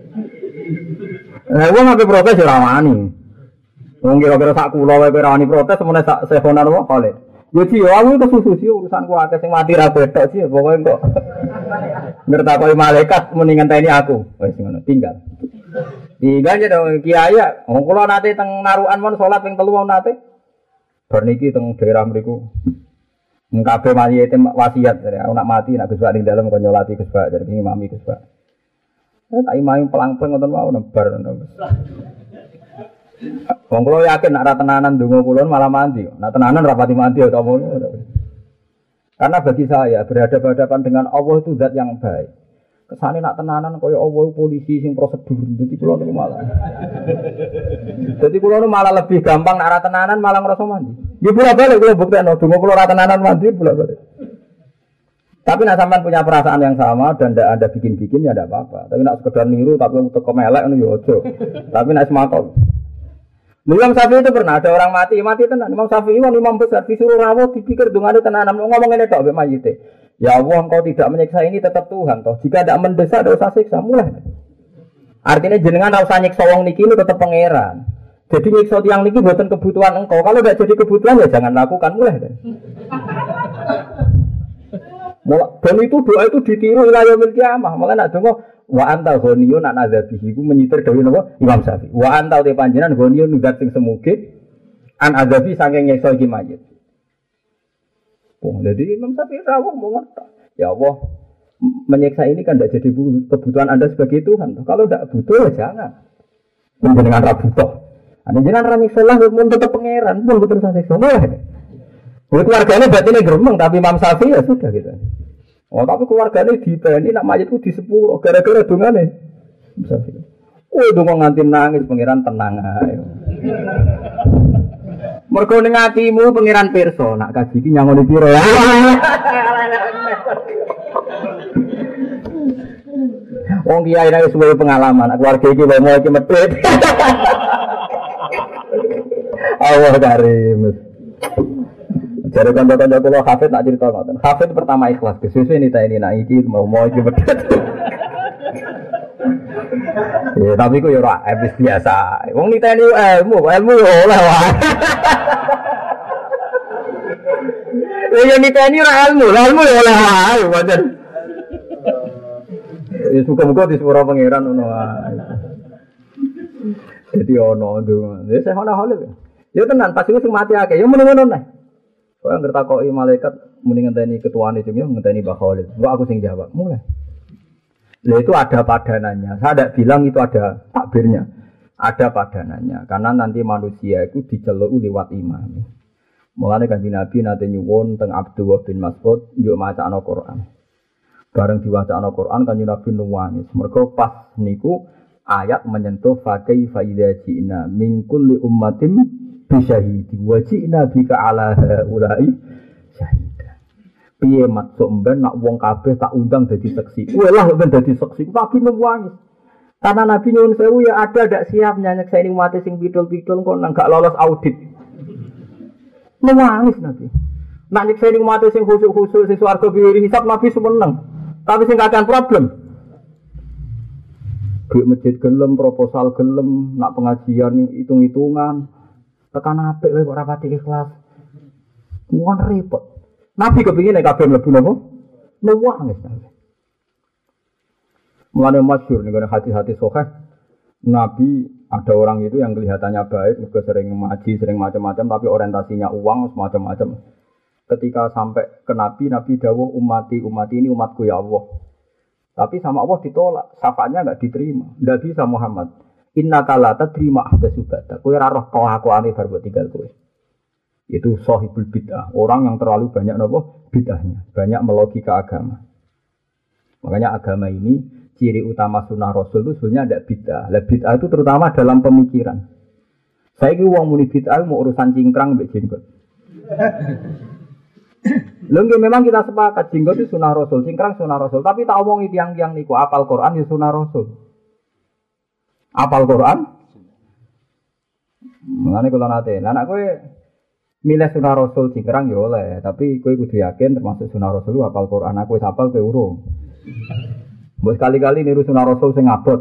Lah wong ape protes ora wani. Wong kira-kira sak kula wae ora wani protes semene sak sehonan wae Khalil. Ya Ci, aku kesusu sih urusanku akeh sing mati ra betok sih, pokoke kok ngertakoki malaikat muni ngenteni aku. Wis ngono, tinggal. Tinggal ya dong kiai ya. Wong kula nate teng narukan mon salat ping 3 nate. Bar niki teng daerah mriku. Kabeh mayite wasiat dari aku nak mati nak Gus Bak ning dalem kok nyolati Gus Bak dari imami Gus Bak. Tak imami pelang-pelang ngoten wae nebar ngono. Wong kula yakin nek ra tenanan ndonga kula malah mandi. Nek tenanan rapati mandi ya kamu. Karena bagi saya berhadapan dengan Allah itu zat yang baik. Kesane nak tenanan kaya Allah polisi sing prosedur. Dadi kula niku malah. Dadi kula niku malah lebih gampang nek ra tenanan malah ngrasa mandi. Nggih bolak-balik kula buktekno donga kula ra tenanan mandi bolak-balik. Tapi nak sampean punya perasaan yang sama dan tidak ada bikin-bikin ya tidak apa-apa. Tapi nak sekedar niru tapi untuk kemelek itu ya ojo. Tapi nak semakau. Imam Syafi'i itu pernah ada orang mati tenan. Imam Syafi'i imam besar disuruh rawuh dipikir dungane tenan ngomong ngene tok mbek mayite. Ya Allah engkau tidak menyiksa ini tetap Tuhan toh. Jika tidak mendesak tidak usah siksa mulai. Artinya jenengan tidak usah nyiksa wong niki itu tetap pangeran. Jadi nyiksa tiang niki buatan kebutuhan engkau. Kalau tidak jadi kebutuhan ya jangan lakukan mulai. Dan itu doa itu ditiru ila yaumil qiyamah. Malah nak donga wa anta ghaniyun an adzabihi ku menyitir dawuh napa Imam Syafi'i. Wa anta te panjenengan ghaniyun zat sing semuge an adzabi saking nyiksa iki mayit. Oh, jadi Imam Syafi'i rawuh mau ngerti. Ya Allah, menyiksa ini kan tidak jadi kebutuhan Anda sebagai Tuhan. Kalau tidak butuh ya jangan. Menjenengan ra butuh. Ana jenengan ra nyiksa lah mun tetep pangeran, pun betul saya siksa. Keluarganya berarti ini geremeng, tapi Imam Syafi'i ya sudah gitu. Oh, tapi keluarganya dipeni, nak mayatku di sepuluh, gara-gara dungane. Imam Syafi'i. Oh, dungo nganti nangis, pangeran tenang ae. Mergo ning atimu pangeran pirsa, nak kaji iki nyangoni piro ya. Wong kiai nang suwe pengalaman, keluarga iki wae iki medhit. Allah karim. Jadi kanca-kanca kula hafid nak cerita ngoten. Hafid pertama ikhlas, kesusu ini nak iki mau iki medhit. Ya tapi ku yo ora habis biasa. Wong niteni ilmu yo oleh wae. Ya niteni ora ilmu yo oleh wae pancen. Ya suka-suka disuruh pangeran ngono wae. Jadi ono ndonga. Ya saya ono hale. Ya tenan pas iku sing mati akeh. Ya muni-muni neh. Kok anggere takoki malaikat muni ngenteni ketuane jeng yo ngenteni Mbah Khalid. Kok aku sing jawab. Mulai. Lah itu ada padanannya. Saya tidak bilang itu ada takbirnya. Ada padanannya. Karena nanti manusia itu diceluk lewat imam. Mulane Kanjeng Nabi nate nyuwun teng Abdullah bin Mas'ud yo macakno Quran. Bareng diwacana Quran Kanjeng Nabi nangis. Mergo pas niku ayat menyentuh fa kaifa idza ji'na min kulli ummatin bisyahidi wa ji'na bika ala haula'i syahida. Piye maksud mben nak wong kabeh tak undang dadi saksi. Walah ben dadi saksi. Nabi nangis. Karena Nabi nyuwun sewu ya ada ndak siap nyeksa ini umat sing pidul-pidul kok nang gak lolos audit. Nangis Nabi. Nak nyeksa ini umat sing khusuk-khusuk sing swarga biwiri hisab Nabi seneng. Tapi sing kakek problem. Duit masjid gelem, proposal gelem, nak pengajian hitung-hitungan. Tekan apik wae kok rapati ikhlas. Muan repot. Nabi kepingin nek kabeh mlebu napa? Nangis. Mulane masyhur ning hati-hati sahih. Nabi ada orang itu yang kelihatannya baik, mergo sering ngaji, sering macam-macam tapi orientasinya uang semacam-macam. Ketika sampai ke Nabi, Nabi dawuh umati ini umatku ya Allah. Tapi sama Allah ditolak, syafaatnya enggak diterima. Enggak bisa Muhammad. Innaka la tadrima ahdatsubatta. Kowe ora roh kelakuane bar mbok tinggal kowe. Itu sahibul bid'ah, orang yang terlalu banyak nopo bid'ahnya, banyak melogika agama. Makanya agama ini ciri utama sunnah Rasul itu sebenarnya ada bid'ah. Lah bid'ah itu terutama dalam pemikiran. Saya ki wong muni bid'ah mau urusan cingkrang mbek jenggot. Lho memang kita sepakat jenggot itu sunnah Rasul, cingkrang sunnah Rasul, tapi tak omongi tiang-tiang niku apal Quran ya sunnah Rasul. Apal Quran? Mengane kula nate, anak kowe milih sunnah Rasul cingkrang ya oleh, tapi kowe kudu yakin termasuk sunnah Rasul apal Quran, aku wis apal kowe urung. Mbok sekali-kali niru sunnah Rasul sing abot.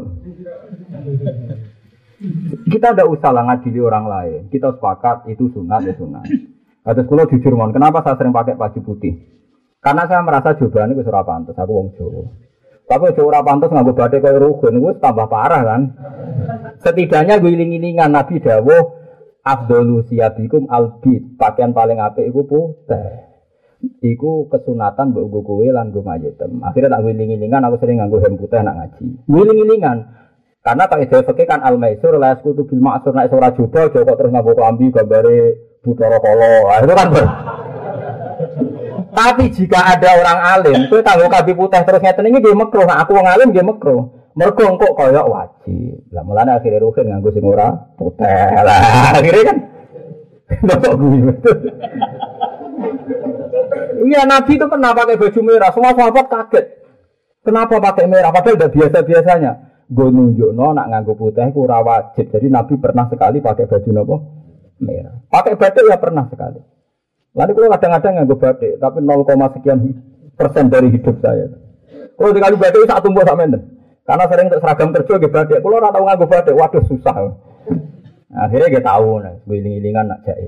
Kita tidak usah lah ngadili orang lain. Kita sepakat itu sunat ya sunat. Terus kalau jujur mon, kenapa saya sering pakai baju putih? Karena saya merasa jawabannya wis ora pantes, aku wong Jawa. Tapi Jawa ora pantes nganggo bathik kaya rugen, wis tambah parah kan. Setidaknya gue iling-ilingan Nabi dawuh afdhalu siyabikum albid, pakaian paling apik iku putih. Iku kesunatan mbok nggo kowe lan nggo mayetem. Akhirnya tak wiling-wilingan aku sering nganggo hem putih nak ngaji. Wiling-wilingan. Karena tak ide fikih kan al-maisur la yasqutu bil ma'sur nek ora joba aja kok terus nganggo klambi gambare Buthara Kala. Itu kan ber. Tapi jika ada orang alim, kowe tanggo klambi putih terus ngeten iki nggih makruh. Nah, aku wong alim nggih makruh. Mergo engko kaya wajib. Lah mulane akhire rugen nganggo sing ora putih. Lah akhire kan ndok gue. Iya, Nabi itu pernah pakai baju merah. Semua sahabat kaget. Kenapa pakai merah? Padahal udah biasa-biasanya. Gue nunjukno nak nganggo putih ku ora wajib. Jadi Nabi pernah sekali pakai baju nopo? Merah. Pakai batik ya pernah sekali. Lalu kalau kadang-kadang nganggo batik, tapi 0, sekian persen dari hidup saya. Kalau dikali batik sak tumbuh sak menden. Karena sering untuk seragam kerja nggih batik. Kalau ora tau nganggo batik, waduh susah. Akhirnya dia tahu nah, wiling-wilingan nak jais.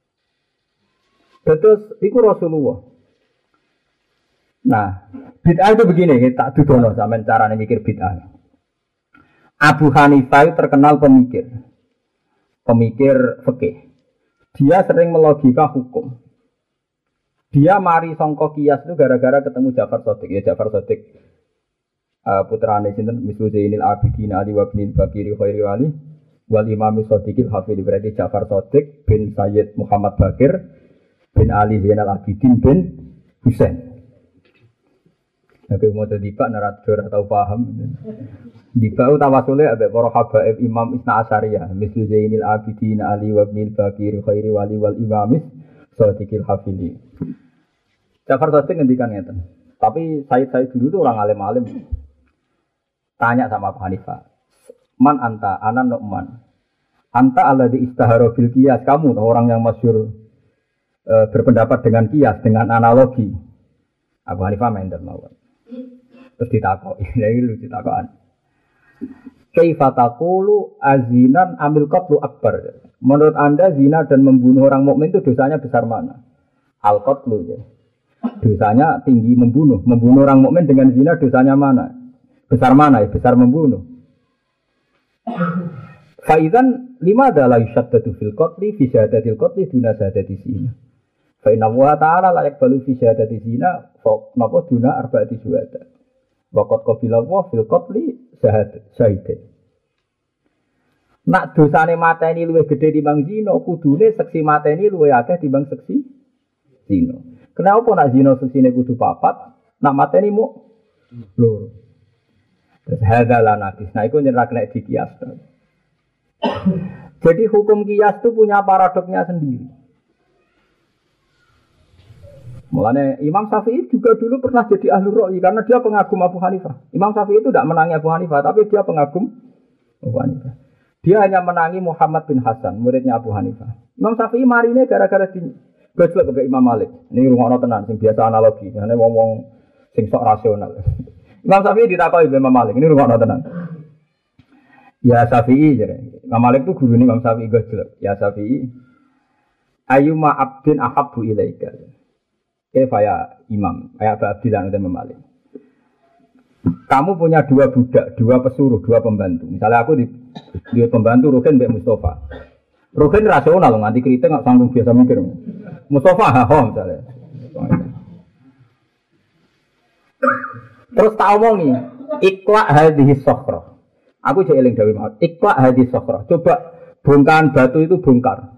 Terus iku Rasulullah. Nah, bid'ah itu begini, tak dudono sampean carane mikir bid'ah. Abu Hanifah terkenal pemikir fikih. Dia sering melogika hukum. Dia mari sangka kias itu gara-gara ketemu Ja'far Shadiq. Ya Ja'far Shadiq putrane sinten Mislu Zainil Abidin Ali wa bin Bakiri Khairi Wali wal Imam Shadiqil Hafidh, berarti Ja'far Shadiq bin Sayyid Muhammad Bakir bin Ali Zainal Abidin bin Husain. Nek mau dadi Pak narator atau paham. Di bawah tawasule ambek para habaib Imam Isna Asyariyah, Mislu Zainil Abidin Ali wa bin Bakiri Khairi Wali wal Imam Shadiqil Hafidh. Ja'far Shadiq ngendikan ngeten. Tapi saya dulu tuh orang alim-alim. Tanya sama Abu Hanifah. Man anta, ana Nu'man. Anta alladzi istahara bil qiyas. Kamu orang yang masyhur berpendapat dengan qiyas, dengan analogi. Abu Hanifah mendel mawon. Terus ditakoki, iki lucu takokan. Kaifa taqulu azinan amil qatlu akbar? Menurut Anda zina dan membunuh orang mukmin itu dosanya besar mana? Al-qatlu ya. Dosanya tinggi membunuh orang mukmin dengan zina dosanya mana? Besar mana ya? Besar membunuh. Faizan lima adalah yushaddadu fil qatli fi syahadatil qatli duna syahadati zina. Fa inna wa ta'ala la yaqbalu fi syahadati zina fa napa duna arba'ati syuhada. Wa qad qabila wa fil qatli syahid. Nak dosane mateni luwih gedhe timbang zina, kudune seksi mateni luwih akeh timbang seksi zina. Kenapa nak zina seksine kudu 4, nak mateni mu loro. Terus hadalah nakis. Nah itu nyerah kena di kias. Jadi hukum kias itu punya paradoknya sendiri. Mulanya Imam Syafi'i juga dulu pernah jadi ahli ra'yi karena dia pengagum Abu Hanifah. Imam Syafi'i itu tidak menangi Abu Hanifah, tapi dia pengagum Abu Hanifah. Dia hanya menangi Muhammad bin Hasan, muridnya Abu Hanifah. Imam Syafi'i marinya gara-gara di gojlok ke Imam Malik. Ini rumah tenan, sing biasa analogi. Karena ngomong sing sok rasional. Imam Syafi'i ditakoki Imam Malik, ini rumah tenan. Ya Syafi'i jare. Imam Malik itu guru Imam Syafi'i gojlok. Ya Syafi'i, ayyuma abdin ahabbu ilaika. Kaya Imam, kayak Abdilan Imam Malik. Kamu punya 2 budak, 2 pesuruh, 2 pembantu. Misalnya aku di pembantu Ruhin mbek Mustafa. Ruhin rasional nganti kritik enggak sanggup biasa mikir. Mustafa hahom misalnya. Terus tak omongi, iqla hadhihi sakhra. Aku jek eling dawuh mau. Iqla hadhihi sakhra. Coba bongkahan batu itu bongkar.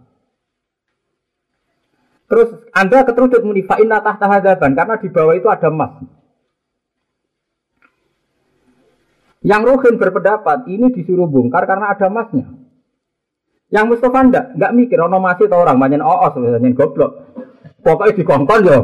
Terus Anda keteruduk muni fa inna tahta hadaban karena di bawah itu ada emas. Yang Ruhin berpendapat ini disuruh bongkar karena ada emasnya. Yang Mustafa enggak mikir ono masih tau orang banyak oos banyak goblok. Pokoknya dikongkon yo.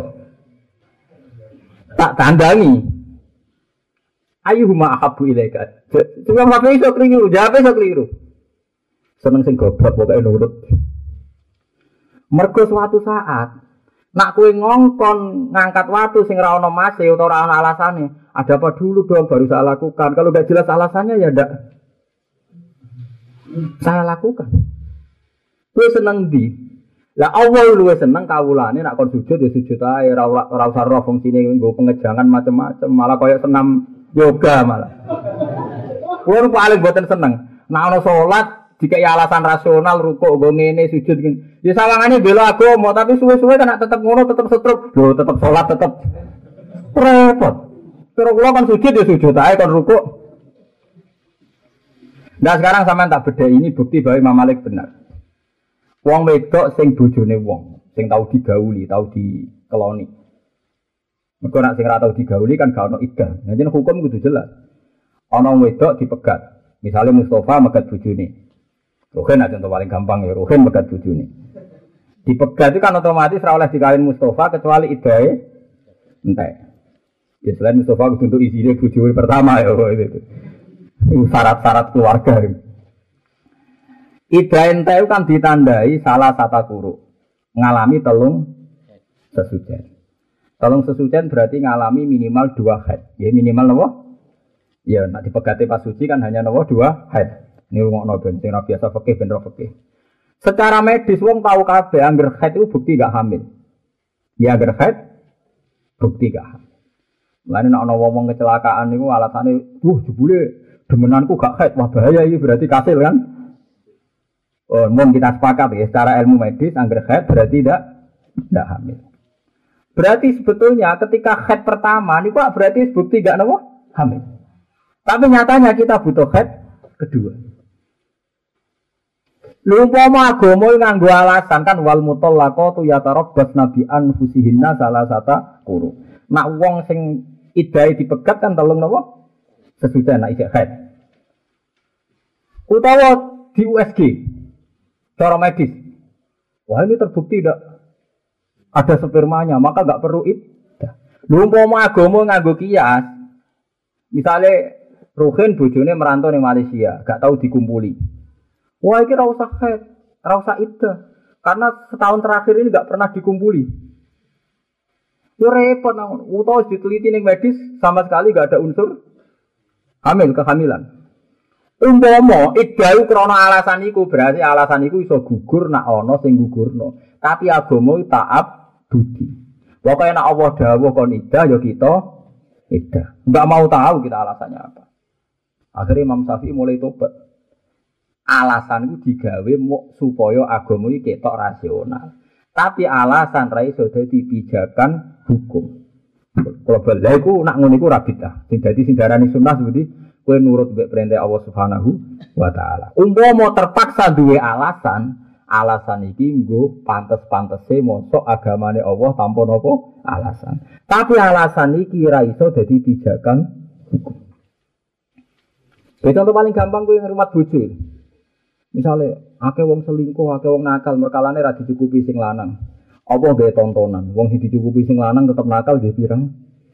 Tak tandangi. Ayyuhuma ahabbu ilaika. Cuma sampe iso keliru, jawabe iso keliru. Seneng sing goblok pokoke nurut. Mergo suatu saat nak kowe ngongkon ngangkat watu sing ora ono mase utawa ora ono alasane, ada apa dulu dong baru saya lakukan. Kalau enggak jelas alasannya ya ndak saya lakukan. Kowe seneng ndi? Lah Allah luwih seneng kawulane nak kon sujud ya sujud ae ora usah ro fungsine nggo pengejangan macam-macam, malah koyo senam yoga malah. Kuwi paling boten seneng. Nak ono salat dikai alasan rasional rukuk nggo ngene sujud ngene. Ya sawangane bela agama tapi suwe-suwe kan tetep ngono tetep setruk. Lho tetep salat tetep repot. Terus kula kan sujud ya sujud ae kon rukuk. Nah sekarang sampean tak beda ini bukti bahwa Imam Malik benar. Wong wedok sing bojone wong, sing tau digauli, tau dikeloni. Mergo nek sing ora tau digauli kan gak ono iddah. Jadi hukum kudu jelas. Ana wedok dipegat. Misalnya Mustafa megat bojone. Ruhin aja contoh paling gampang ya, Ruhin megat bojone. Dipegat itu kan otomatis ora oleh dikawin Mustafa kecuali idahe entek. Ya selain Mustafa untuk isine bojo pertama ya itu. Itu syarat-syarat keluarga. Idahe entek kan ditandai salah satu kuru. Ngalami telung sesucian. Telung sesucian berarti ngalami minimal 2 haid. Ya minimal apa? Ya nek dipegate pas suci kan hanya 2 haid. Ini rungokno ben sing ora biasa fikih ben ora fikih. Secara medis wong tahu kabeh angger haid itu bukti gak hamil. Ya angger haid bukti gak hamil. Lan nek ana wong kecelakaan niku alasane, jebule demenanku gak haid, wah bahaya iki berarti kasil kan. Oh, mun kita sepakat ya secara ilmu medis angger haid berarti tidak hamil. Berarti sebetulnya ketika haid pertama niku berarti bukti gak hamil. Tapi nyatanya kita butuh haid kedua. Lu umpama agama nganggo alasan kan wal mutallaqatu yatarabbasna bi anfusihinna salasata quru. Nak wong sing idahe dipegat kan telung napa? Sesudah nak isih haid. Utawa di USG cara medis. Wah ini terbukti tidak ada spermanya, maka enggak perlu iddah. Lu umpama agama nganggo kias. Misale Ruhin bojone merantau ning Malaysia, gak tahu dikumpuli. Wah, ini ora usah haid, ora usah iddah. Karena setahun terakhir ini enggak pernah dikumpuli. Yo repot nang utawa diteliti ning medis sama sekali enggak ada unsur kehamilan. Umpama iddah krana alasan iku berarti alasan iku iso gugur nak ana sing gugurno. Tapi agama taat budi. Pokoke nek Allah dawuh kon iddah ya kita iddah. Enggak mau tahu kita alasannya apa. Akhirnya Imam Syafi'i mulai tobat. Alasan itu digawe supaya agama iki ketok rasional. Tapi alasan ra iso dadi pijakan hukum. Kalau bala iku nak ngono iku ra bidah. Sing dadi sing darani sunah seperti kowe nurut mbek perintah Allah Subhanahu wa taala. Umpama terpaksa duwe alasan iki nggo pantes-pantese mosok agamane Allah tanpa napa alasan. Tapi alasan iki ra iso dadi pijakan hukum. Contoh paling gampang kuwi ngrumat bojo. Misale akeh wong selingkuh, akeh wong nakal, merkalane ra dicukupi sing lanang. Apa gawe tontonan? Wong sing dicukupi sing lanang tetep nakal nggih pirang.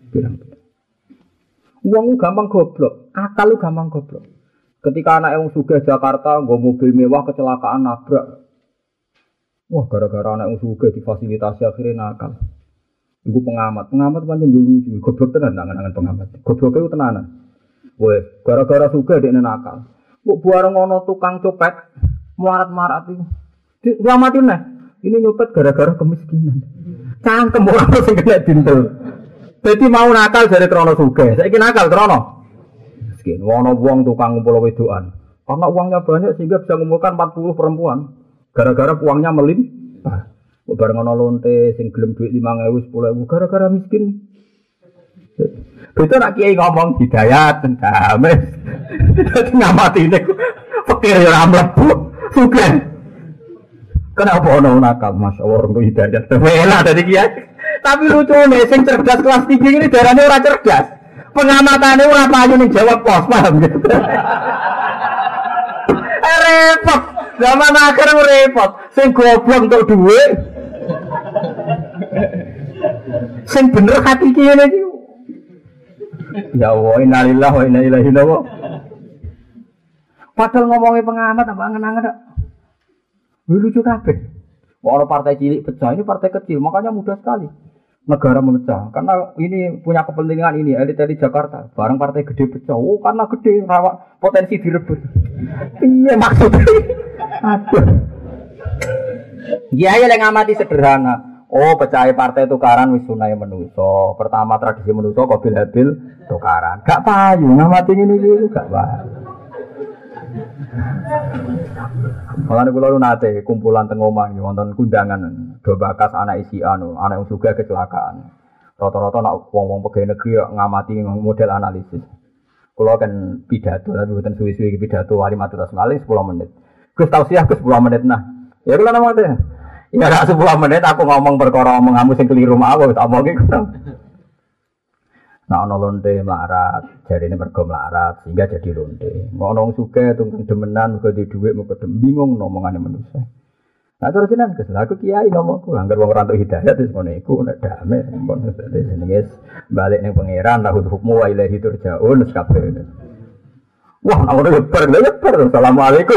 Wong gampang goblok, akal lu gampang goblok. Ketika anak wong sugih Jakarta nggo mobil mewah kecelakaan nabrak. Wah, gara-gara anak wong sugih difasilitasi akhirnya nakal. Iku pengamat pancen yo lucu, goblok tenan angan-angan pengamat. Gobloke ku tenanan. Wes, gara-gara sugih dekne nakal. Kok bareng ana tukang copet melarat-marat iku. Dislamatin nah. Ini nyopet gara-gara kemiskinan. Cangkem ora sing kena dintel. Dadi mau nakal dari krana sugih. Saiki nakal krana miskin. Ana wong tukang ngumpul wedokan. Karena uangnya banyak sehingga bisa mengumpulkan 40 perempuan. Gara-gara uangnya melimpah. Bareng ana lonte sing gelem dhuwit 5.000 10.000 gara-gara miskin. Betul nak kiai ngomong hidayat damai. Dadi ngamati niku pikir ora mlebu sugih. Kenapa ono nakal masyaallah untuk hidayat. Enak dari kiai. Tapi lucune sing cerdas kelas 3 ini darane ora cerdas. Pengamatane ora payu ning jawab pos, paham gitu. Repot. Zaman akhir repot. Sing goblok untuk duit. Sing bener hati kiye iki. Ya Allah, innalillahi wa inna ilaihi raji'un. Padahal ngomongin pengamat apa angen-angen tak? Lucu kabeh. Orang partai cilik pecah, ini partai kecil, makanya mudah sekali negara memecah. Karena ini punya kepentingan ini, elit-elit Jakarta. Barang partai gede pecah, karena gede, rawa potensi direbut. Iya maksudnya. Aduh. Ya yang ngamati sederhana. Oh, pecah partai tukaran wis sunai menuso. Pertama tradisi menuso Qabil Habil tukaran. Gak payu ngamati ini gak payu. Malah kula nate kumpulan teng omah wonten kundangan do bakas anak isi anak yang sugih kecelakaan. Rata-rata nak wong-wong pegawai negeri ngamati model analisis. Kula kan pidato tapi mboten suwi-suwi pidato wali matur sekali 10 menit. Gus tausiah Gus 10 menit nah. Ya kula namanya. Ya ora 10 menit aku ngomong perkara omonganmu sing keliru mawon tak omongi ngono. Nah ana lonte melarat, jarine mergo melarat sehingga jadi lonte. Ono wong sugih tunggu demenan mergo di dhuwit mergo bingung omongane manusa. Nah terus jenengan Gus, aku kiai ngomongku anggar wong ora entuk hidayah terus ngono iku nek damai pun jenenge balik ning pangeran lahul hukmu wa ilaihi turja'un kabeh. Wah, nek ora bar, assalamualaikum.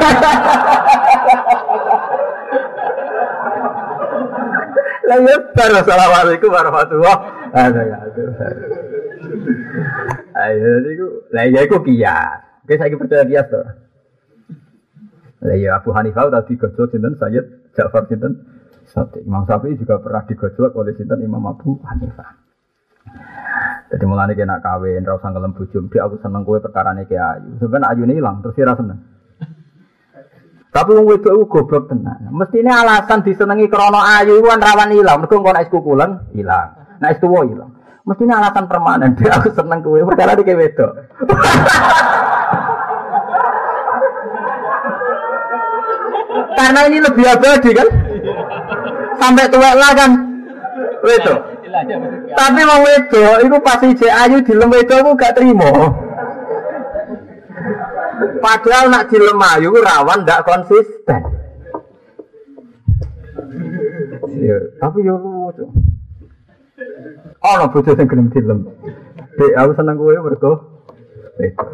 Lah ya bar, assalamualaikum warahmatullahi wabarakatuh. Ayo niku, lah ya iku kias. Oke saiki percaya kias to. Lah ya Abu Hanifah tadi digojlok sinten Sayyid Ja'far sinten Sadiq. Imam Syafi'i juga pernah digojlok oleh sinten Imam Abu Hanifah. Jadi mulane kena kawin ra usah ngelem bojo, Dik aku seneng kowe perkarane ki ayu. Sampeyan ayune ilang terus ora seneng. Tapi wong wedok iku goblok tenan. Mestine alasan disenengi krana ayu iku kan rawan ilang, mergo engko nek kukulen ilang. Nek tuwa ilang. Mestine alasan permanen, Dik aku seneng kowe perkara iki wedok. Karena ini lebih abadi kan, sampai tua lah kan, wedo. Tapi mau wedo, itu pasti ayu di lem wedo aku gak terima. Padahal nak di lem ayu rawan gak konsisten. Ya, tapi yo lucu. Oh, no bojo sing gelem dilem. Dek, aku seneng kowe mergo wedo.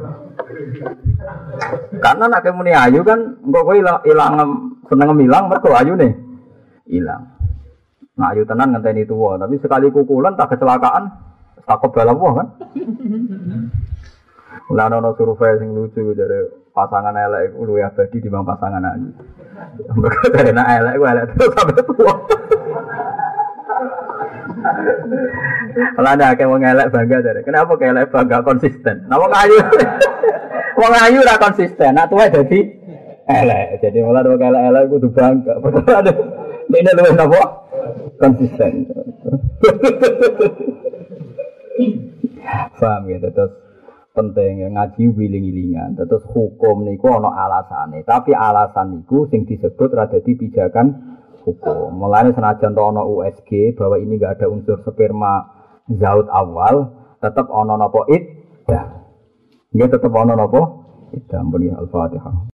Karena nak kemuni ayu kan, engkau kowe ilang seneng milang mergo ayune ilang. Nah ayu tenan ngenteni tuwa, tapi sekali kukulan tak kecelakaan, tak kebalawa kan. Lah ono survei sing lucu dari pasangan elek iku luwih abadi dibanding pasangan ayu. Mergo dari nek elek ku elek terus sampe tuwa. Lah ada akeh wong elek bangga dari. Kenapa kok elek bangga konsisten? Nah wong ayu wong ayu ora konsisten, nak tuwa dadi elek. Jadi malah wong elek-elek kudu bangga. Padahal ada dene luwih napa? Konsisten. Paham ya, terus penting ngaji wiling-wilingan. Terus hukum niku ana alasane, tapi alasan niku sing disebut ra dadi pijakan hukum. Mulane senajan to ana USG bahwa ini enggak ada unsur sperma zaut awal, tetap ana napa iddah. Nggih tetep ana napa? Iddah. Al-Fatihah.